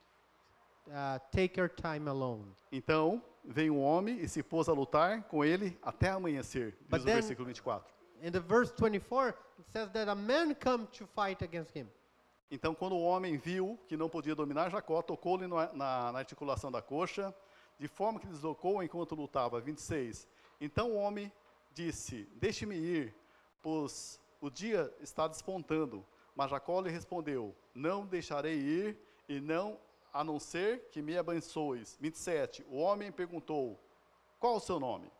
Take your time alone. Então, veio um homem e se pôs a lutar com ele até amanhecer, diz o versículo 24. In the verse 24, it says that a man come to fight against him. Então, quando o homem viu que não podia dominar Jacó, tocou-lhe na articulação da coxa, de forma que deslocou enquanto lutava. 26. Então o homem disse, deixe-me ir, pois o dia está despontando. Mas Jacó lhe respondeu, não deixarei ir, e não a não ser que me abençoes. 27. O homem perguntou, qual o seu nome?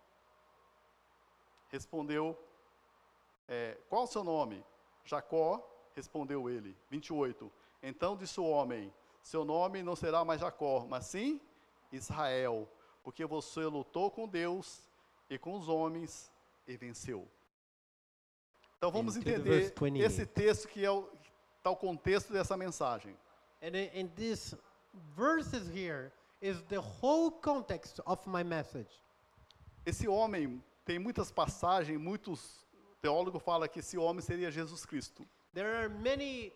Respondeu, qual o seu nome? Jacó, respondeu ele. 28. Então disse o homem, seu nome não será mais Jacó, mas sim Israel, porque você lutou com Deus e com os homens e venceu. Então vamos entender esse texto que está o contexto dessa mensagem. And these verses here is the whole context of my message. Esse homem tem muitas passagens, muitos teólogos falam que esse homem seria Jesus Cristo. There are many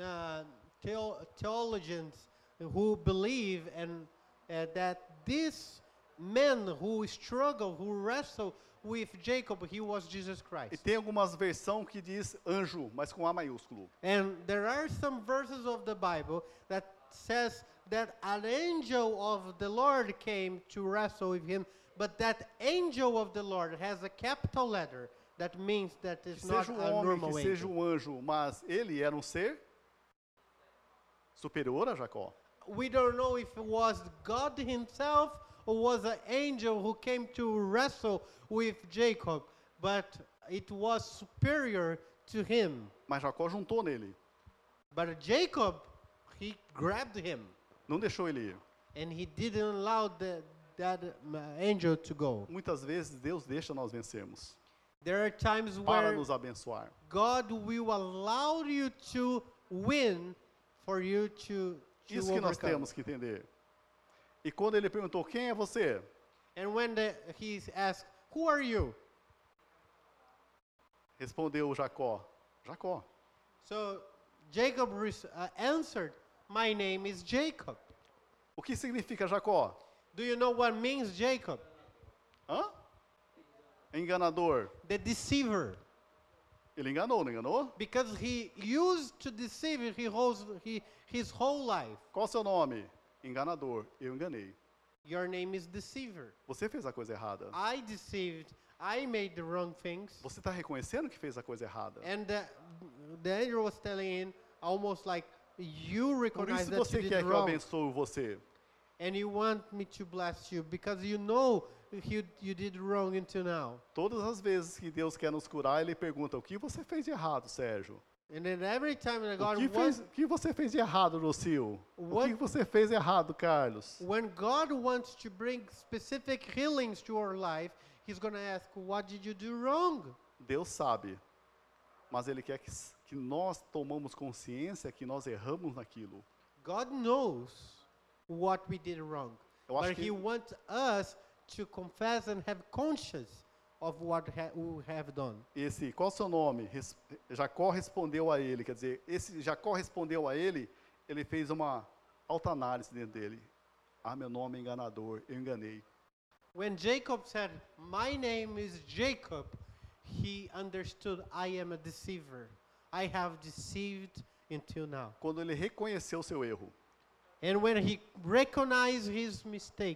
theologians who believe that this man who struggled, who wrestled with Jacob, he was Jesus E Christ. tem algumas versões que diz anjo, mas com A maiúsculo. And there are some verses of the Bible that says that an angel of the Lord came to wrestle with him, but that angel of the Lord has a capital letter. That means that Que it's not seja a homem, normal que seja angel. anjo, mas ele era ser superior a Jacó. We don't know if it was God himself or was an angel who came to wrestle with Jacob, but it was superior to him. Mas Jacó juntou nele, But Jacob, he grabbed him, não deixou ele ir. and he didn't allow that angel to go. Muitas vezes Deus deixa nós vencermos There are times para where nos abençoar. God will allow you to win for you to Isso que nós overcome. temos que entender. E quando ele perguntou, quem é você? And when he asked, "Who are you?" Respondeu Jacó, Jacó. So Jacob answered, "My name is Jacob." O que significa Jacó? Do you know what means Jacob? Hã? Enganador. The deceiver. Ele enganou, não enganou? Because he used to deceive his whole life. Qual o seu nome? Enganador. Eu enganei. Your name is deceiver. Você fez a coisa errada. I deceived. I made the wrong things. Você está reconhecendo que fez a coisa errada. And the angel was telling him almost like, you Por recognize isso that você you quer did que eu wrong. abençoe você. And you want me to bless you because you know you did wrong until now. Todas as vezes que Deus quer nos curar, Ele pergunta, o que você fez de errado, Sérgio? And then every time that O God o que você fez de errado, Rocio? O What- que você fez de errado, Carlos? when God wants to bring specific healings to our life, He's going to ask, what did you do wrong? Deus sabe, mas Ele quer que nós tomamos consciência que nós erramos naquilo. God knows what we did wrong. Eu acho But que- He wants us to confess and have conscience of what we have done. Qual o seu nome? Jacó respondeu a ele, quer dizer, esse Jacó respondeu a ele, ele fez uma autoanálise dentro dele. Ah, meu nome é enganador, eu enganei. When Jacob said, "My name is Jacob," he understood, I am a deceiver. I have deceived until now. Quando ele reconheceu o seu erro, And when he recognized his mistake,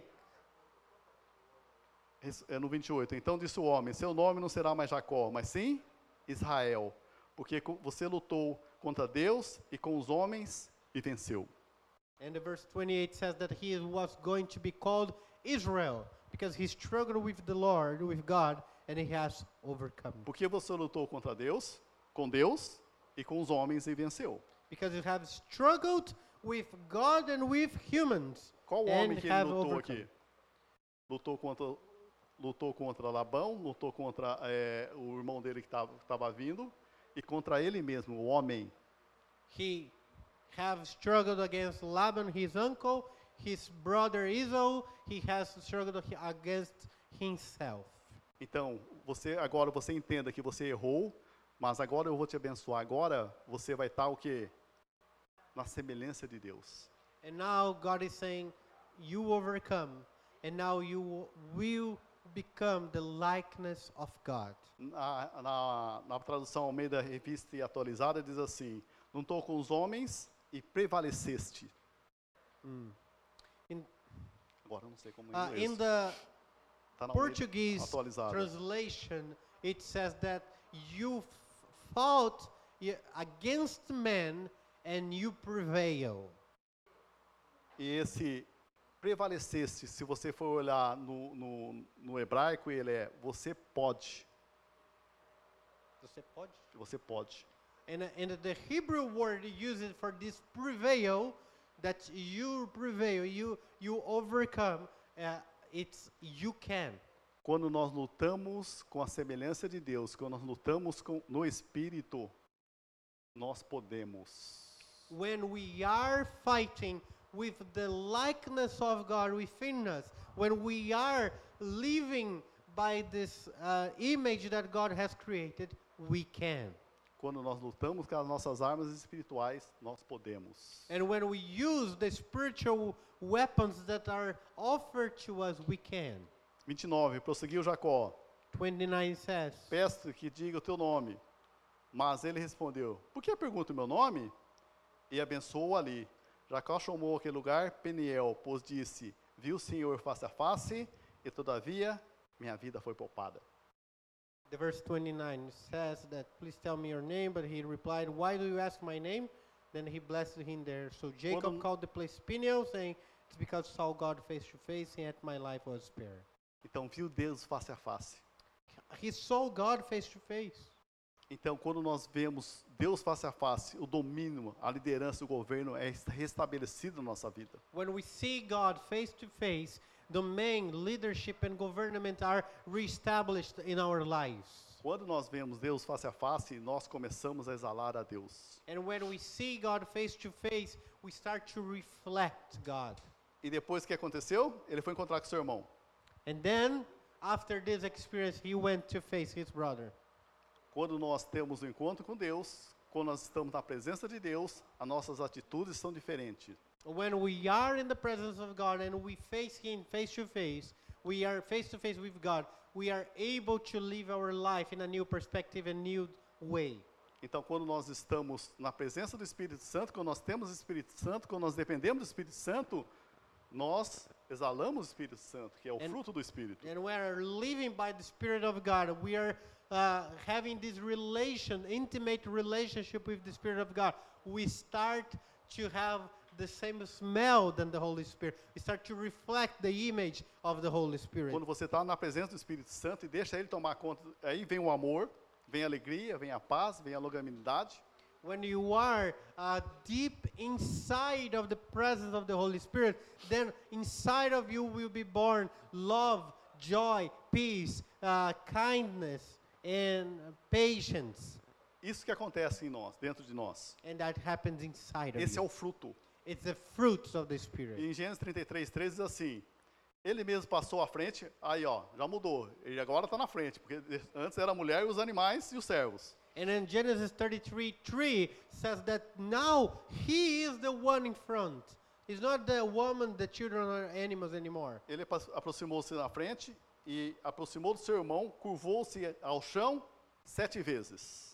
é no 28, então disse o homem, seu nome não será mais Jacó, mas sim Israel, porque você lutou contra Deus e com os homens e venceu. and the verse 28 says that he was going to be called Israel because he struggled with the Lord, with God, and he has overcome. Porque você lutou contra Deus, com Deus e com os homens e venceu. Because you have struggled with God and with humans Qual and homem que ele have lutou overcome. aqui? Lutou contra Labão, lutou contra o irmão dele que estava vindo e contra ele mesmo, o homem. He have struggled against Laban, his uncle, his brother Esau. He has struggled against himself. Então, agora você entenda que você errou, mas agora eu vou te abençoar. Agora você vai estar o quê? Na semelhança de Deus. And now God is saying, you overcome, and now you will become the likeness of God. Na tradução Almeida Revista e Atualizada diz assim, não estou com os homens e prevaleceste. In, Agora eu não sei como em in inglês. the Tá na Almeida Portuguese Atualizada. translation, it says that you fought against men and you prevail. E esse prevaleceste, se você for olhar no hebraico, ele é você pode. Você pode? Você pode. And the Hebrew word used for this prevail, that you prevail, you overcome, it's you can. Quando nós lutamos com a semelhança de Deus, quando nós lutamos no Espírito, nós podemos. When we are fighting with the likeness of God within us, when we are living by this image that God has created, we can. Quando nós lutamos com as nossas armas espirituais, nós podemos. And when we use the spiritual weapons that are offered to us, we can. 29, prosseguiu Jacó. 29 says, Peço que diga o teu nome. Mas ele respondeu, por que pergunta o meu nome? E abençoou ali. Jacó chamou aquele lugar Peniel, pois disse, viu o Senhor face a face, e todavia minha vida foi poupada. the verse 29 says that, please tell me your name, but he replied, why do you ask my name? Then he blessed him there. So Jacob Quando- called the place Peniel, saying, it's because I saw God face to face, and yet my life was spared. Então viu Deus face a face. He saw God face to face. Então, quando nós vemos Deus face a face, o domínio, a liderança, o governo é restabelecido na nossa vida. When we see God face to face, domain, leadership, and government are reestablished in our lives. Quando nós vemos Deus face a face, nós começamos a exalar a Deus. And when we see God face to face, we start to reflect God. E depois o que aconteceu? Ele foi encontrar com seu irmão. And then, after this experience, he went to face his brother. Quando nós temos um encontro com Deus, quando nós estamos na presença de Deus, as nossas atitudes são diferentes. When we are in the presence of God and we face Him face to face with God, we are able to live our life in a new perspective, a new way. Então, quando nós estamos na presença do Espírito Santo, quando nós temos o Espírito Santo, quando nós dependemos do Espírito Santo, nós exalamos o Espírito Santo, que é o fruto do Espírito. And we are living by the Spirit of God. We are having this intimate relationship with the Spirit of God. We start to have the same smell than the Holy Spirit. We start to reflect the image of the Holy Spirit. Quando você está na presença do Espírito Santo e deixa Ele tomar conta, aí vem o amor, vem a alegria, vem a paz, vem a longanimidade. When you are deep inside of the presence of the Holy Spirit, then inside of you will be born love, joy, peace, kindness, and patience. Isso que acontece em nós, dentro de nós. And that happens inside of Esse é you. o fruto. It's the fruits of the Spirit. E em Gênesis 33:13 diz assim, ele mesmo passou à frente, aí ó, já mudou, ele agora está na frente, porque antes era a mulher e os animais e os servos. And in Genesis 33:3 says that now he is the one in front. He's not the woman, the children, or animals anymore. Ele aproximou-se na frente e aproximou do seu irmão, curvou-se ao chão 7 vezes.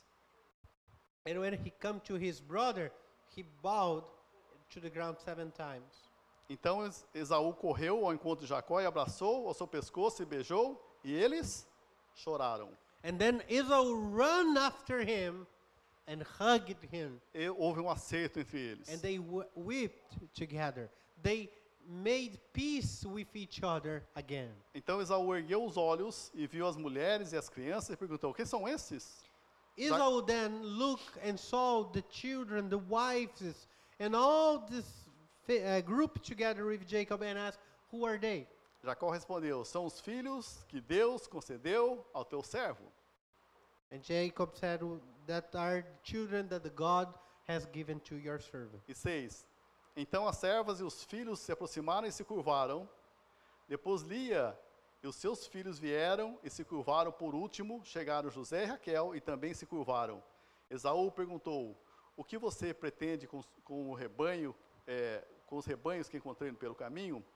And when he came to his brother, he bowed to the ground 7 times. Então Esaú correu ao encontro de Jacó e abraçou ao seu pescoço e beijou, e eles choraram. And then Esau ran after him and hugged him. E houve um acerto entre eles. And they wept together. They made peace with each other again. Então Esaú ergueu os olhos e viu as mulheres e as crianças e perguntou, quem são esses? Esau then looked and saw the children, the wives, and all this group together with Jacob and asked, who are they? Jacó respondeu, são os filhos que Deus concedeu ao teu servo. And Jacob said, that are the children that the God has given to your servant. E 6, então as servas e os filhos se aproximaram e se curvaram. Depois Lia e os seus filhos vieram e se curvaram. Por último, chegaram José e Raquel e também se curvaram. Esaú perguntou, o que você pretende com o rebanho, com os rebanhos que encontrei pelo caminho?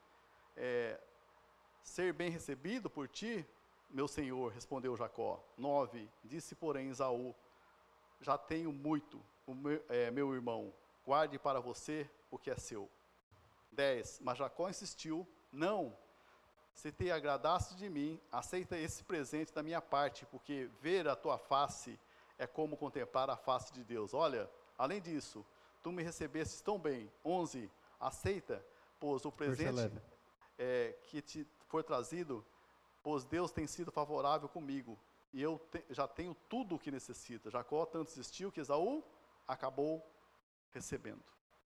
Ser bem recebido por ti, meu senhor, respondeu Jacó. 9, disse porém Esaú, já tenho muito, meu irmão, guarde para você o que é seu. 10, mas Jacó insistiu, não, se te agradaste de mim, aceita esse presente da minha parte, porque ver a tua face é como contemplar a face de Deus. Olha, além disso, tu me recebestes tão bem. 11, aceita, pois o presente que te for trazido, pois Deus tem sido favorável comigo, e eu já tenho tudo o que necessita. Jacó tanto insistiu que Esaú acabou recebendo.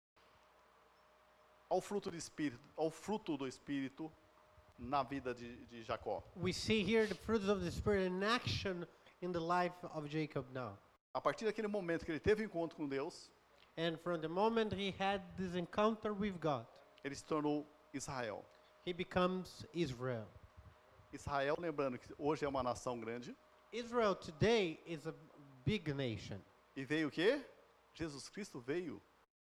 Ao fruto do Espírito na vida de Jacó. We see here the fruits of the Spirit in action in the life of Jacob now. A partir daquele momento que ele teve um encontro com Deus, And from the moment he had this encounter with God, ele se tornou Israel. he becomes Israel. Israel, lembrando que hoje é uma nação grande, Israel today is a big nation. e veio o quê? Jesus Cristo veio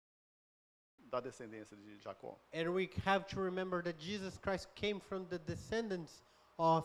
da descendência de Jacó. And we have to remember that Jesus Christ came from the descendants of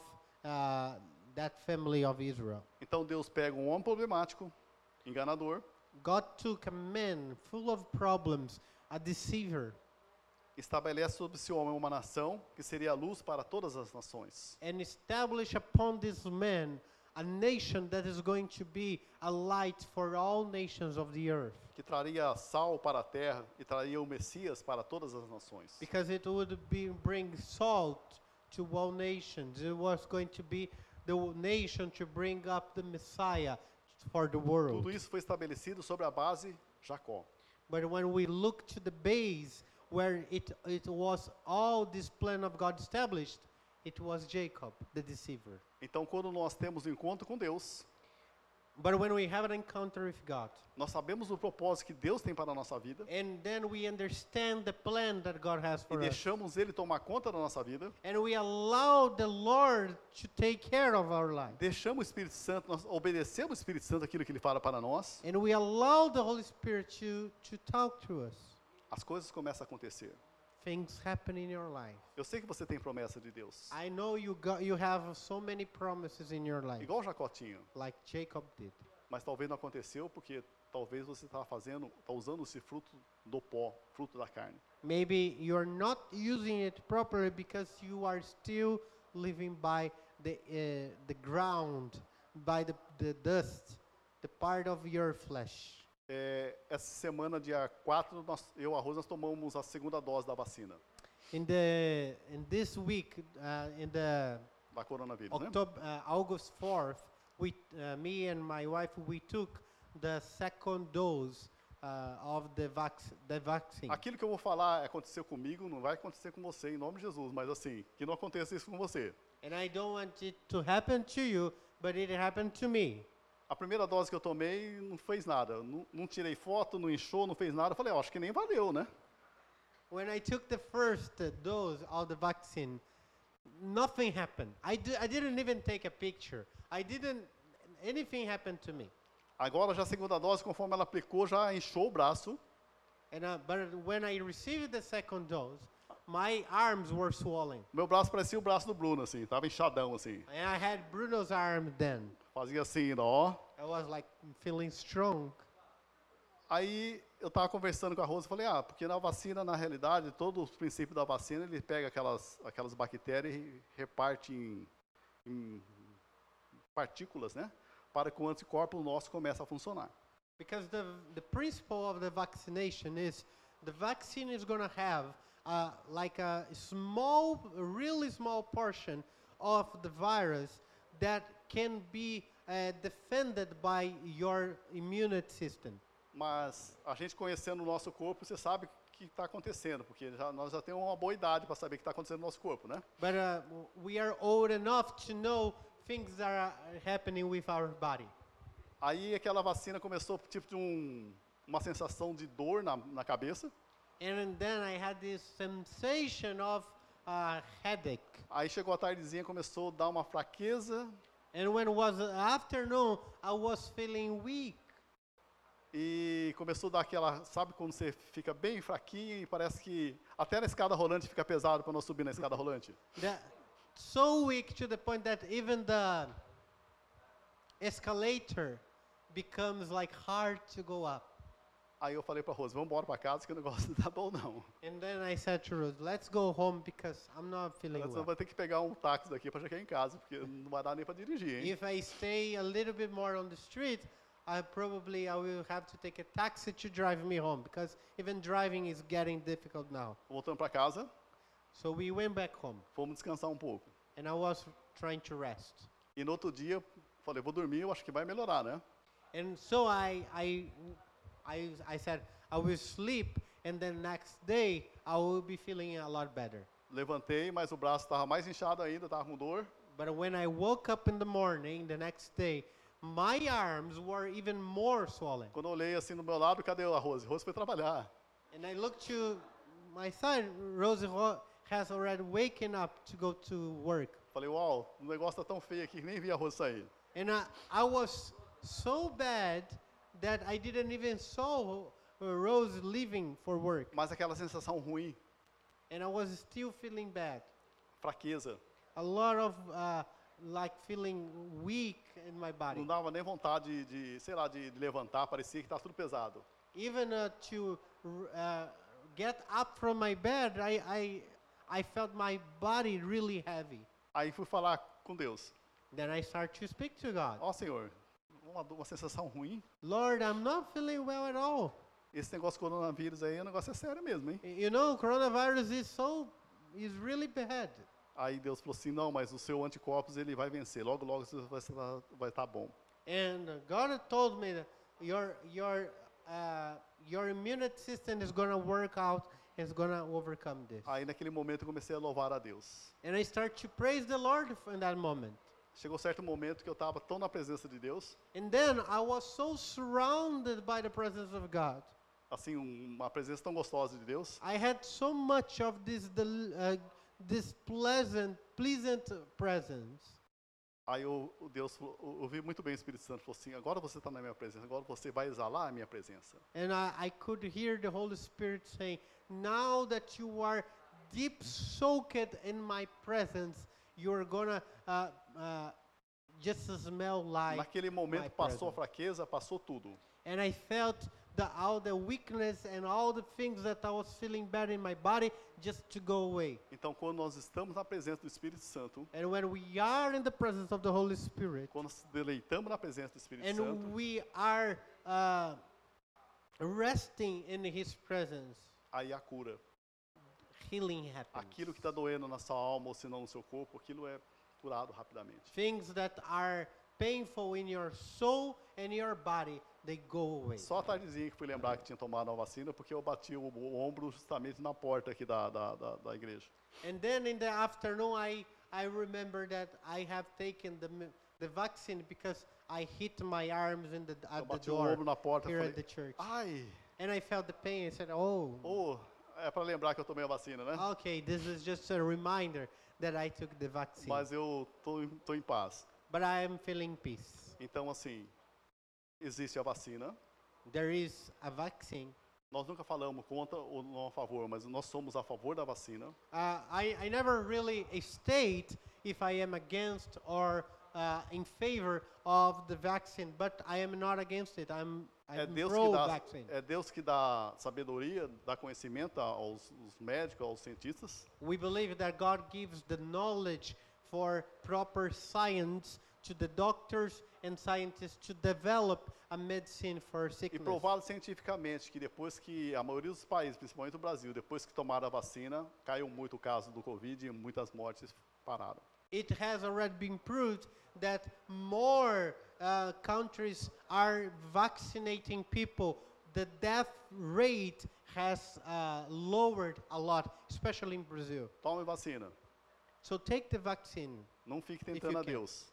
that family of Israel. Então Deus pega um homem problemático, enganador, God took a man full of problems, a deceiver, estabelece sobre esse homem uma nação que seria a luz para todas as nações. and established upon this man a nation that is going to be a light for all nations of the earth. Que traria sal para a terra e traria o Messias para todas as nações. Because it would bring salt to all nations. It was going to be the nation to bring up the Messiah for the world. Tudo isso foi estabelecido sobre a base Jacó. But when we look to the base where it was all this plan of God established, it was Jacob, the deceiver. Então, quando nós temos um encontro com Deus, But when we have an encounter with God, nós sabemos o propósito que Deus tem para a nossa vida and then we understand the plan that God has e for us, deixamos Ele tomar conta da nossa vida, and we allow the Lord to take care of our life, deixamos o Espírito Santo, nós obedecemos o Espírito Santo aquilo que Ele fala para nós, and we allow the Holy Spirit to talk to us, as coisas começam a acontecer. things happen in your life. Eu sei que você tem promessa de Deus, I know you have so many promises in your life, igual Jacó tinha, like Jacob did. mas talvez não aconteceu porque talvez você está usando esse fruto do pó, fruto da carne. Maybe you're not using it properly because you are still living by the ground, by the dust, the part of your flesh. Essa semana, dia 4, eu e a Rosa, nós tomamos a segunda dose da vacina, In this week, in the da coronavírus, né? August 4th, me and my wife, we took the second dose of the vaccine. Aquilo que eu vou falar aconteceu comigo, não vai acontecer com você, em nome de Jesus, mas assim, que não aconteça isso com você. And I don't want it to happen to you, but it happened to me. A primeira dose que eu tomei não fez nada, não tirei foto, não inchou, não fez nada. Eu falei, acho que nem valeu, né? When I took the first dose of the vaccine, nothing happened. I didn't even take a picture. Anything happened to me. Agora já a segunda dose, conforme ela aplicou, já inchou o braço. But when I received the second dose, my arms were swollen. Meu braço parecia o braço do Bruno, assim, tava inchadão, assim. And I had Bruno's arm then. Fazia assim, ó. I was like feeling strong. Aí eu estava conversando com a Rosa e falei, porque na vacina, na realidade, todo o princípio da vacina, ele pega aquelas bactérias e reparte em partículas, né? Para que o anticorpo nosso comece a funcionar. Because the principle of the vaccination is the vaccine is going to have like a really small portion of the virus that can be defended by your immune system. Mas a gente conhecendo o nosso corpo, você sabe o que está acontecendo, porque nós já temos uma boa idade para saber o que está acontecendo no nosso corpo, né? But we are old enough to know things that are happening with our body. Aí aquela vacina começou tipo de uma sensação de dor na cabeça. And then I had this sensation of headache. Aí chegou a tardezinha, começou a dar uma fraqueza. And when it was afternoon, I was feeling weak. E começou a dar aquela, sabe quando você fica bem fraquinho e parece que até na escada rolante fica pesado para nós subir na escada rolante? So weak to the point that even the escalator becomes like hard to go up. Aí eu falei para Rose, vamos embora para casa que o negócio não tá bom não. And then I said to Rose, let's go home because I'm not feeling Você well. vai ter que pegar um táxi daqui para chegar em casa, porque não vai dar nem para dirigir, hein? If I stay a little bit more on the street, I will have to take a taxi to drive me home because even driving is getting difficult now. Voltando para casa, So we went back home fomos descansar um pouco. and I was trying to rest. E no outro dia, falei, vou dormir, eu acho que vai melhorar, né? And so I said I will sleep and then next day I will be feeling a lot better. Levantei, mas o braço estava mais inchado ainda, estava com dor. But when I woke up in the morning the next day, my arms were even more swollen. Quando eu olhei assim no meu lado, cadê a Rose? Rose foi trabalhar. And I looked to my son, Rosie has already waken up to go to work. Falei, uau, o negócio tá tão feio aqui que nem vi arroz sair. And I was so bad that I didn't even saw Rose leaving for work. Mas aquela sensação ruim, And I was still feeling bad. fraqueza, A lot of like feeling weak in my body. não dava nem vontade sei lá, de levantar, parecia que tá tudo pesado. Even to get up from my bed, I felt my body really heavy. Aí fui falar com Deus. Then I start to speak to God. Ó, Senhor, uma sensação ruim. Lord, I'm not feeling well at all. Esse negócio de coronavírus aí, o negócio é sério mesmo, hein? You know, coronavirus is really bad. Aí Deus falou assim, não, mas o seu anticorpos ele vai vencer. Logo, logo você vai estar bom. And God told me that your immune system is going to work out and is going to overcome this. Aí naquele momento eu comecei a louvar a Deus. And I start to praise the Lord in that moment. Chegou certo momento que eu estava tão na presença de Deus, And then I was so surrounded by the presence of God. assim, uma presença tão gostosa de Deus, I had so much of this pleasant presence. aí Deus falou, eu ouvi muito bem o Espírito Santo, falou assim, agora você está na minha presença, agora você vai exalar a minha presença. And I could hear the Holy Spirit saying, now that you are deep soaked in my presence, you're gonna just smell like Naquele momento my passou a presence. fraqueza, passou tudo. And I felt all the weakness and all the things that I was feeling bad in my body just to go away. Então, quando nós estamos na presença do Espírito Santo, And when we are in the presence of the Holy Spirit, quando nos deleitamos na presença do Espírito and Santo, we are resting in His presence, aí a cura. healing happens. Aquilo que está doendo na sua alma ou se não no seu corpo, aquilo é curado rapidamente. Things that are painful in your soul and your body, they go away. Só a tardezinha que fui lembrar que tinha tomado a vacina, porque eu bati o ombro justamente na porta aqui da igreja. And then in the afternoon, I remember that I have taken the vaccine because I hit my arms Eu at the bati o door ombro na porta e here falei, at the church. ai, And I felt the pain. I said, oh, é para lembrar que eu tomei a vacina, né? okay, this is just a reminder that I took the vaccine. Mas eu tô em paz. But I am feeling peace. Então, assim, existe a vacina. There is a vaccine. Nós nunca falamos contra ou não a favor, mas nós somos a favor da vacina. I never really state if I am against or in favor of the vaccine, but I am not against it. I'm pro-vaccine. É Deus que dá sabedoria, dá conhecimento aos médicos, aos cientistas. We believe that God gives the knowledge for proper science to the doctors and scientists to develop a medicine for E sickness. provado cientificamente que depois que a maioria dos países, principalmente o Brasil, depois que tomaram a vacina, caiu muito o caso do Covid e muitas mortes pararam. It has already been proved that more countries are vaccinating people. The death rate has lowered a lot, especially in Brazil. Tome vacina. So take the vaccine. Não fique you tentando a can. Deus.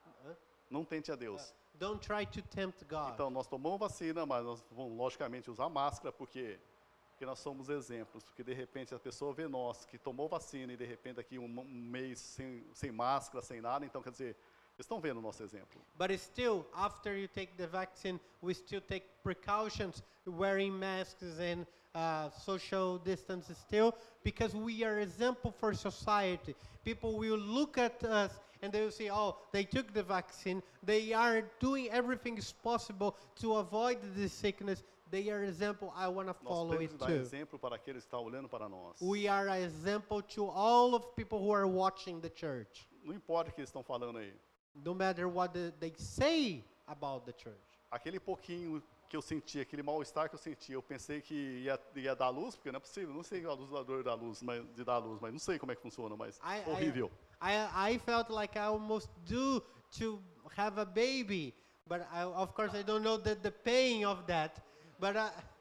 Não tente a Deus. Don't try to tempt God. Então, nós tomamos vacina, mas nós vamos, logicamente, usar máscara, porque nós somos exemplos. Porque, de repente, a pessoa vê nós, que tomou vacina, e, de repente, aqui um mês sem máscara, sem nada. Então, quer dizer, eles estão vendo o nosso exemplo. But still, after you take the vaccine, we still take precautions, wearing masks and social distance still, because we are example for society. People will look at us and they will say, oh, they took the vaccine. They are doing everything is possible to avoid this sickness. They are example. I want to Nós follow temos it que dar too. exemplo para aqueles que estão olhando para nós. We are an example to all of people who are watching the church. Não importa o que eles estão falando aí. No matter what they say about the church. Aquele pouquinho que eu senti, aquele mal-estar que eu senti, eu pensei que ia dar luz, porque não é possível, não sei a dor da luz, de dar luz, mas não sei como é que funciona, mas horrível. I felt like I almost due to have a baby, but of course I don't know the pain of that. But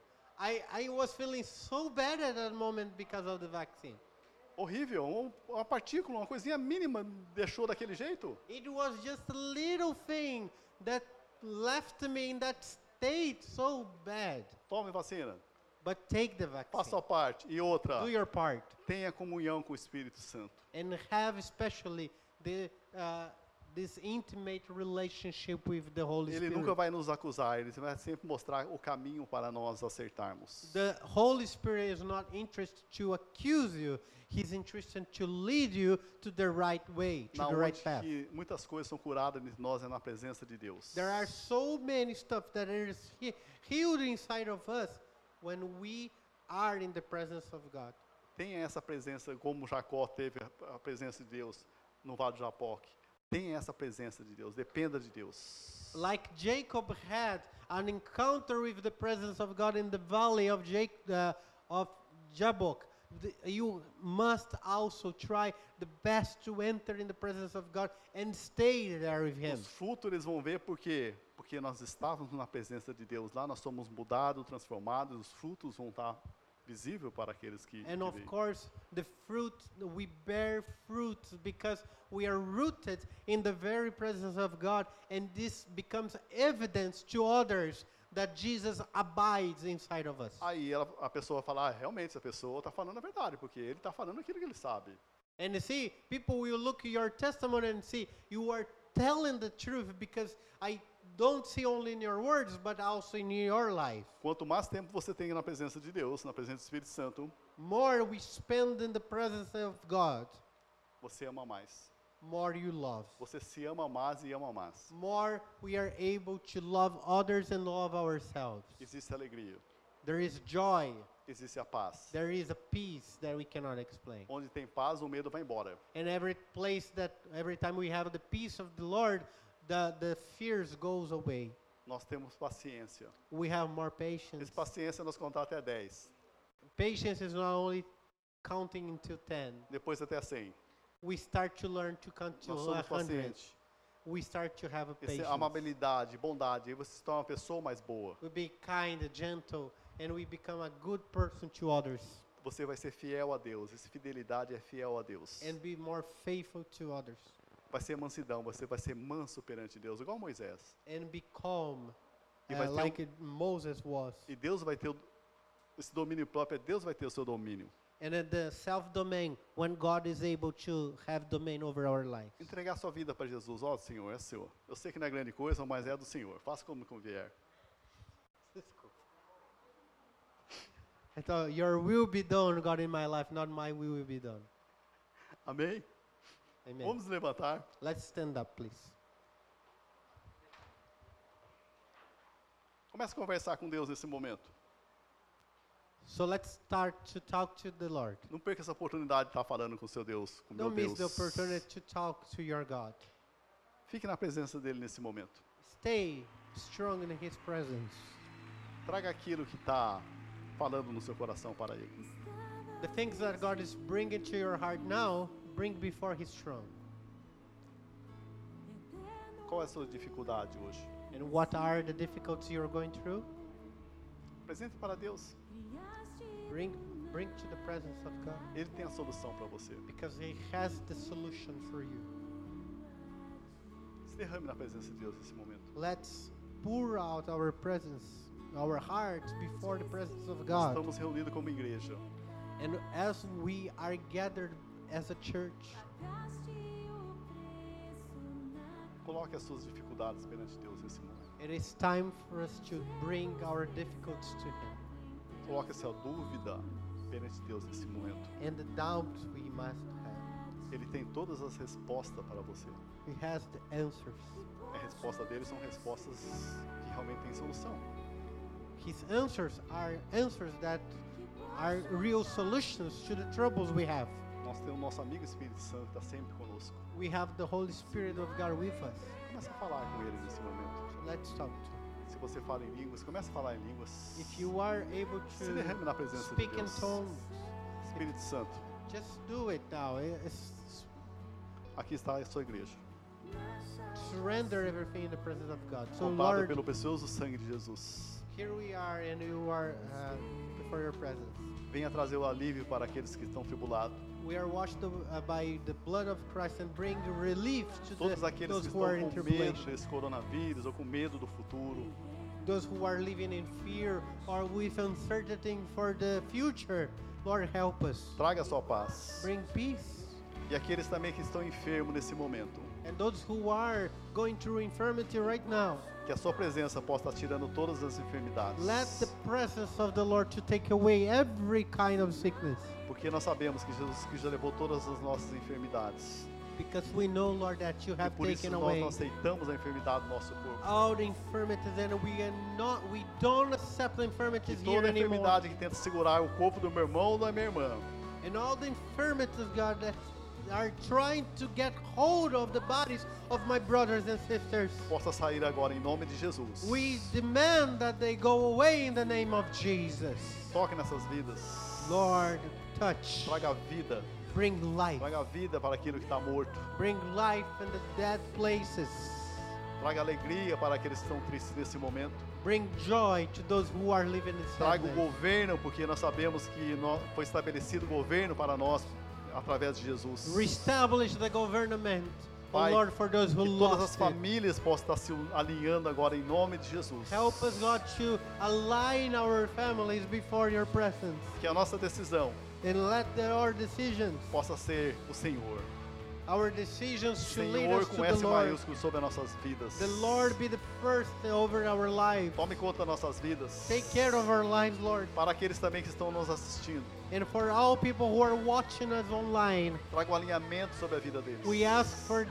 I was feeling so bad at that moment because of the vaccine. Horrível, uma partícula, uma coisinha mínima deixou daquele jeito. It was just a little thing that left me in that state so bad. Tome vacina, But take the faça vaccine. a parte. E outra, Do your part. tenha comunhão com o Espírito Santo. And have especially this intimate relationship with the Holy Ele Spirit. nunca vai nos acusar, ele vai sempre mostrar o caminho para nós acertarmos. The Holy Spirit is not interested to accuse you. He's interested to lead you to the right way, to Na the onde right path. que muitas coisas são curadas em nós é na presença de Deus. There are so many stuff that is healed inside of us when we are in the presence of God. Tenha essa presença, como Jacó teve a presença de Deus no Vale de Jaboque. Tenha essa presença de Deus, dependa de Deus. Like Jacob had an encounter with the presence of God in the valley of Jabbok, you must also try the best to enter in the presence of God and stay there with Him. Os frutos eles vão ver porque nós estávamos na presença de Deus lá, nós somos mudados, transformados, os frutos vão estar visíveis para aqueles que And of veem. course, the fruit, we bear fruits because we are rooted in the very presence of God, and this becomes evidence to others that Jesus abides inside of us. Aí a pessoa fala, realmente essa pessoa está falando a verdade, porque ele está falando aquilo que ele sabe. And you see, people will look at your testimony and see you are telling the truth because I don't see only in your words, but also in your life. Quanto mais tempo você tem na presença de Deus, na presença do Espírito Santo, More we spend in the presence of God, você ama mais. more you love. Você se ama mais e ama mais. More we are able to love others and love ourselves. Existe alegria, There is joy. existe a paz. There is a peace that we cannot explain. Onde tem paz, o medo vai embora. And every time we have the peace of the Lord, the fears goes away. Nós temos paciência. We have more patience. Essa paciência é nós contar até 10, Patience is not only counting until 10. depois até 100. We start to learn to count to Nós somos 100. pacientes. We start to have a Essa patience. amabilidade, bondade, aí você se torna uma pessoa mais boa. We be kind, gentle, and we become a good person to others. Você vai ser fiel a Deus. Essa fidelidade é fiel a Deus. And be more faithful to others. Vai ser mansidão, você vai ser manso perante Deus, igual Moisés. And be calm, E vai ter like Moses was. E Deus vai ter esse domínio próprio, Deus vai ter o seu domínio. And in the self-domain, when God is able to have domain over our life. Entregar sua vida para Jesus. Ó, Senhor, é seu. Eu sei que não é grande coisa, mas é do Senhor. Faça como convier. Então, your will be done, God, in my life, not my will be done. Amém? Amen. Vamos nos levantar. Let's stand up, please. Comece a conversar com Deus nesse momento. So let's start to talk to the Lord. Não perca essa oportunidade de estar falando com o seu Deus, com o meu Don't miss the Deus. opportunity to talk to your God. Fique na presença dele nesse momento. Stay strong in His presence. Traga aquilo que está falando no seu coração para ele. The things that God is bringing to your heart now, bring before His throne. Qual é a sua dificuldade hoje? And what are the difficulties you're going through? Apresente para Deus. Bring to the presence of God, Ele tem a solução para você. because He has the solution for you. Se derrame na presença de Deus nesse momento. Let's pour out our presence, our hearts before the presence of Nós God. estamos reunidos como igreja. And as we are gathered as a church, Coloque as suas dificuldades perante Deus nesse momento. it is time for us to bring our difficulties to Him. Coloque essa dúvida perante Deus nesse momento. And the doubts we must have. Ele tem todas as respostas para você. He has the answers. A resposta dele são respostas que realmente têm solução. His answers are answers that are real solutions to the troubles we have. Nós temos o nosso amigo Espírito Santo que está sempre conosco. We have the Holy Spirit of God with us. Comece a falar com ele nesse momento. So let's talk to Him. Se você fala em línguas, comece a falar em línguas. If you are able Se derrame na to presença de speak in Deus. tongues, Espírito Santo, just do it now. aqui está a sua igreja. Surrender everything in the presence of God. So Comprada Lord, pelo precioso sangue de Jesus. here we are and you are before your presence. Venha trazer o alívio para aqueles que estão tribulados. We are washed by the blood of Christ and bring relief to Todos aqueles those que who are estão in com medo tribulation. desse coronavírus ou com medo do futuro. Those who are living in fear or with uncertainty for the future. Lord, help us. Traga a sua paz. Bring peace. E aqueles também que estão enfermos nesse momento. and those who are going through infirmity right now. Que a sua presença possa estar tirando todas as enfermidades. Let the presence of the Lord to take away every kind of sickness. Porque nós sabemos que Jesus Cristo já levou todas as nossas enfermidades. Because we know, Lord, that you E have por isso taken nós away não aceitamos a enfermidade do nosso corpo. all the infirmities, and we don't accept the Que infirmities here toda anymore. enfermidade que tenta segurar o corpo do meu irmão ou da minha irmã, And all the infirmities, God, that are trying to get hold of the bodies of my brothers and sisters. possa sair agora em nome de Jesus. We demand that they go away in the name of Jesus. Toque nessas vidas. Lord, touch, Traga vida. bring life, Traga vida para aquilo que está morto. bring life in the dead places. Traga alegria para aqueles que estão tristes nesse momento. Bring joy to those who are living in Traga o sadness. governo, porque nós sabemos que foi estabelecido o governo para nós através de Jesus. Reestablish the government, oh Pai, Lord, for those who Que todas as lost it. famílias possam estar se alinhando agora em nome de Jesus. Help us, God, to align our families before your presence. Que a nossa decisão And let our decisions, possa ser o Senhor. our decisions to lead Senhor us to com the S Lord. maiúsculo sobre as nossas vidas. The Lord be the first over our lives. Tome conta das nossas vidas. Take care of our lives, Lord. Para aqueles também que estão nos assistindo. And for all people who are watching us online, Traga um alinhamento sobre a vida deles. we ask for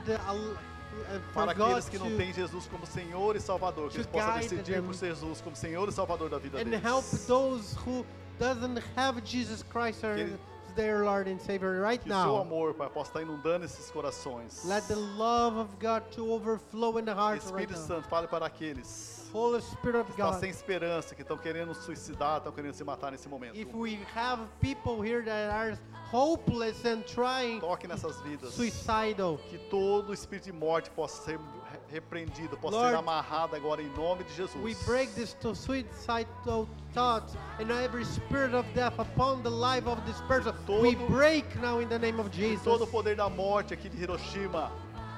for Para God aqueles que não to têm Jesus como Senhor e Salvador, que eles to possam guide decidir them. por Jesus como Senhor e Salvador da vida and deles. help those who doesn't have Jesus Christ as Que- their Lord and Savior right Que o seu now. amor, Pai, possa estar inundando esses corações. Let the love of God to overflow in the hearts right Espírito now. Santo, fale para aqueles Holy Spirit of que estão God, sem esperança, que estão querendo suicidar, estão querendo se matar nesse momento. if we have people here that are hopeless and trying Toque nessas vidas. suicidal, Que todo espírito de morte possa ser repreendido, possa Lord, ser amarrado agora em nome de Jesus. we break this to suicidal thoughts and every spirit of death upon the life of this person. We Todo- break now in the name of Que Jesus. todo o poder da morte aqui de Hiroshima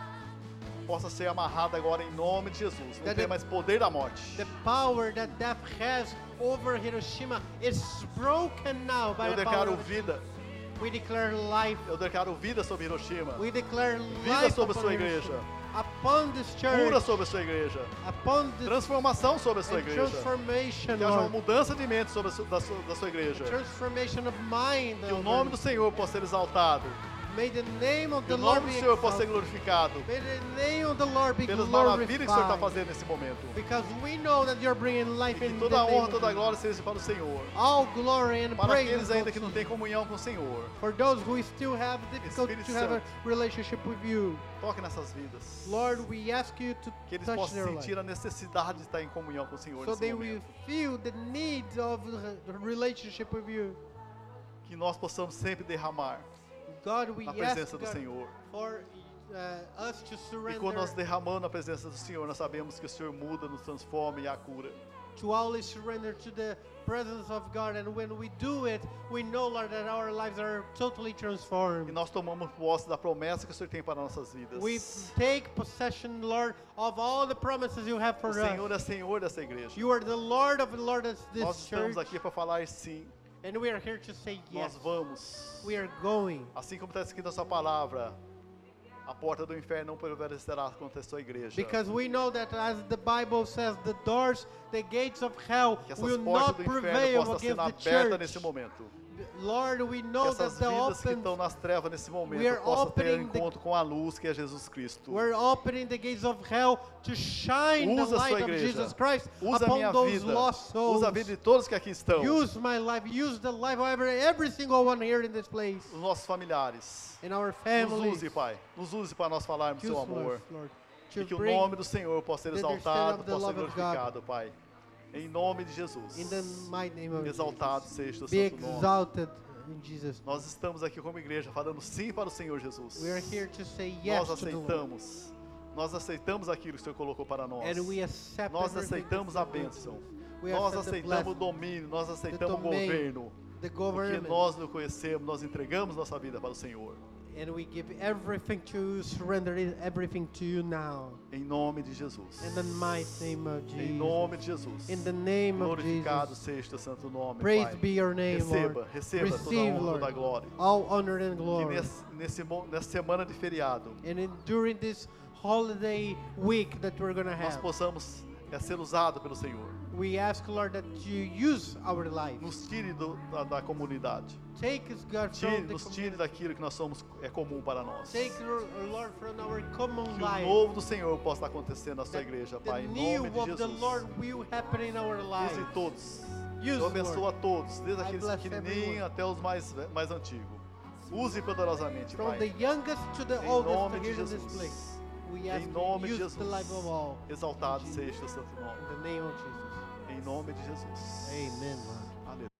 possa ser amarrado agora em nome de Jesus. Não That tem the- mais poder da morte. The power that death has over Hiroshima is broken now by Eu the power declaro of vida. We declare life. Eu declaro vida sobre Hiroshima. We declare Vida life sobre a upon sua Hiroshima, igreja. upon this church, Cura sobre a sua igreja. upon this Transformação sobre a sua and igreja. transformation, Que haja uma Lord. mudança de mente sobre da sua igreja. Transformation of mind. Que o Lord. nome do Senhor possa ser exaltado. May the name of Que the o Lord nome be do Senhor possa ser exalted. glorificado. May the name of the Lord be Pelas maravilhas que o Senhor está glorified. fazendo nesse momento. Because we know that you're bringing E life que in the toda a name honra, of toda a Jesus. glória seja para o Senhor. All glory and Para praise aqueles go ainda to que não you. têm comunhão com o Senhor. For those who still have difficulty Espírito to have a Santo. relationship with you, Toque nessas vidas. Lord, we ask you to Que eles touch possam their life, sentir a necessidade de estar em comunhão com o Senhor so nesse they will momento. feel the need of the relationship with you. Que nós possamos sempre derramar God, we na ask presença do God, Senhor. for us to E quando nós surrender, derramamos na presença do Senhor, nós sabemos que o Senhor muda, nos transforma e a cura. to always surrender to the presence of God. And when we do it, we know, Lord, that our lives are totally E transformed. nós tomamos posse da promessa que o Senhor tem para nossas vidas. We take possession, Lord, of all the promises you have O for Senhor us. é Senhor dessa igreja. You are the Lord of Lords of Nós this estamos church, aqui para falar sim. and we are here to say yes. Nós vamos. We are going. Assim como está escrito na sua palavra, a porta do inferno não prevalecerá contra a sua igreja. Because we know that as the Bible says, the doors, the gates of hell Que essas will portas not do inferno prevail possam estar sendo against the abertas nesse church. momento. Lord, we Que know essas that the vidas que open, estão nas trevas nesse we momento are possam ter opening the- encontro com a luz que é Jesus Cristo. we're opening the gates of hell to shine the Usa a light sua of igreja. Jesus Christ Usa a minha upon those vida. lost souls. Usa a vida de todos que aqui estão. Use my life, use the life of every single one here in this place, Os nossos familiares. in our Nos families. use, Pai. Nos use para nós falarmos do Use seu amor. us, Lord, E to que o bring nome do Senhor possa ser the understanding exaltado, of the possa ser love of God. glorificado, Pai. Em nome de Jesus. in the mighty name of Exaltado Jesus. seja o Be santo nome. exalted in Jesus' name. Nós estamos aqui como igreja falando sim para o Senhor Jesus. We are here to say yes Nós to the Lord. aceitamos. Nós aceitamos aquilo que o Senhor colocou para nós. And we accept Nós everything aceitamos that a you do. bênção. We Nós accept the aceitamos o blessing, domínio, nós aceitamos o domain, governo. the Porque government. nós não conhecemos, nós entregamos nossa vida para o Senhor. And we give everything to you, surrender everything to you now. Em nome de Jesus. In the mighty name of Jesus. Em nome de Jesus. In the name of Glorificado Jesus. seja teu santo nome, Praise Pai. be your name, Receba, Lord. receba toda a Receive, honra, Lord, toda a glória. all honor and Que glory. nessa semana de feriado, During this holiday week that we're going to nós have, possamos ser usados pelo Senhor. we ask, Lord, that you use our lives. Nos tire da comunidade. Take us, God, from the Nos tire daquilo que nós somos comum para nós. Take, Lord, from our common Que o life. novo do Senhor possa acontecer na sua That igreja, the Pai, em new nome de of the Jesus. Lord will happen in our lives. Use todos. Use, Eu abençoo a todos, desde I aqueles bless pequenininhos everyone. até os mais antigos. Use poderosamente, From the Pai. youngest to the Em oldest nome de here in this Jesus. place. We ask Em nome you de use the life of Jesus. all. Exaltado seja o teu santo In nome. the name of Jesus. Em nome de Jesus. Amen, Lord. Aleluia.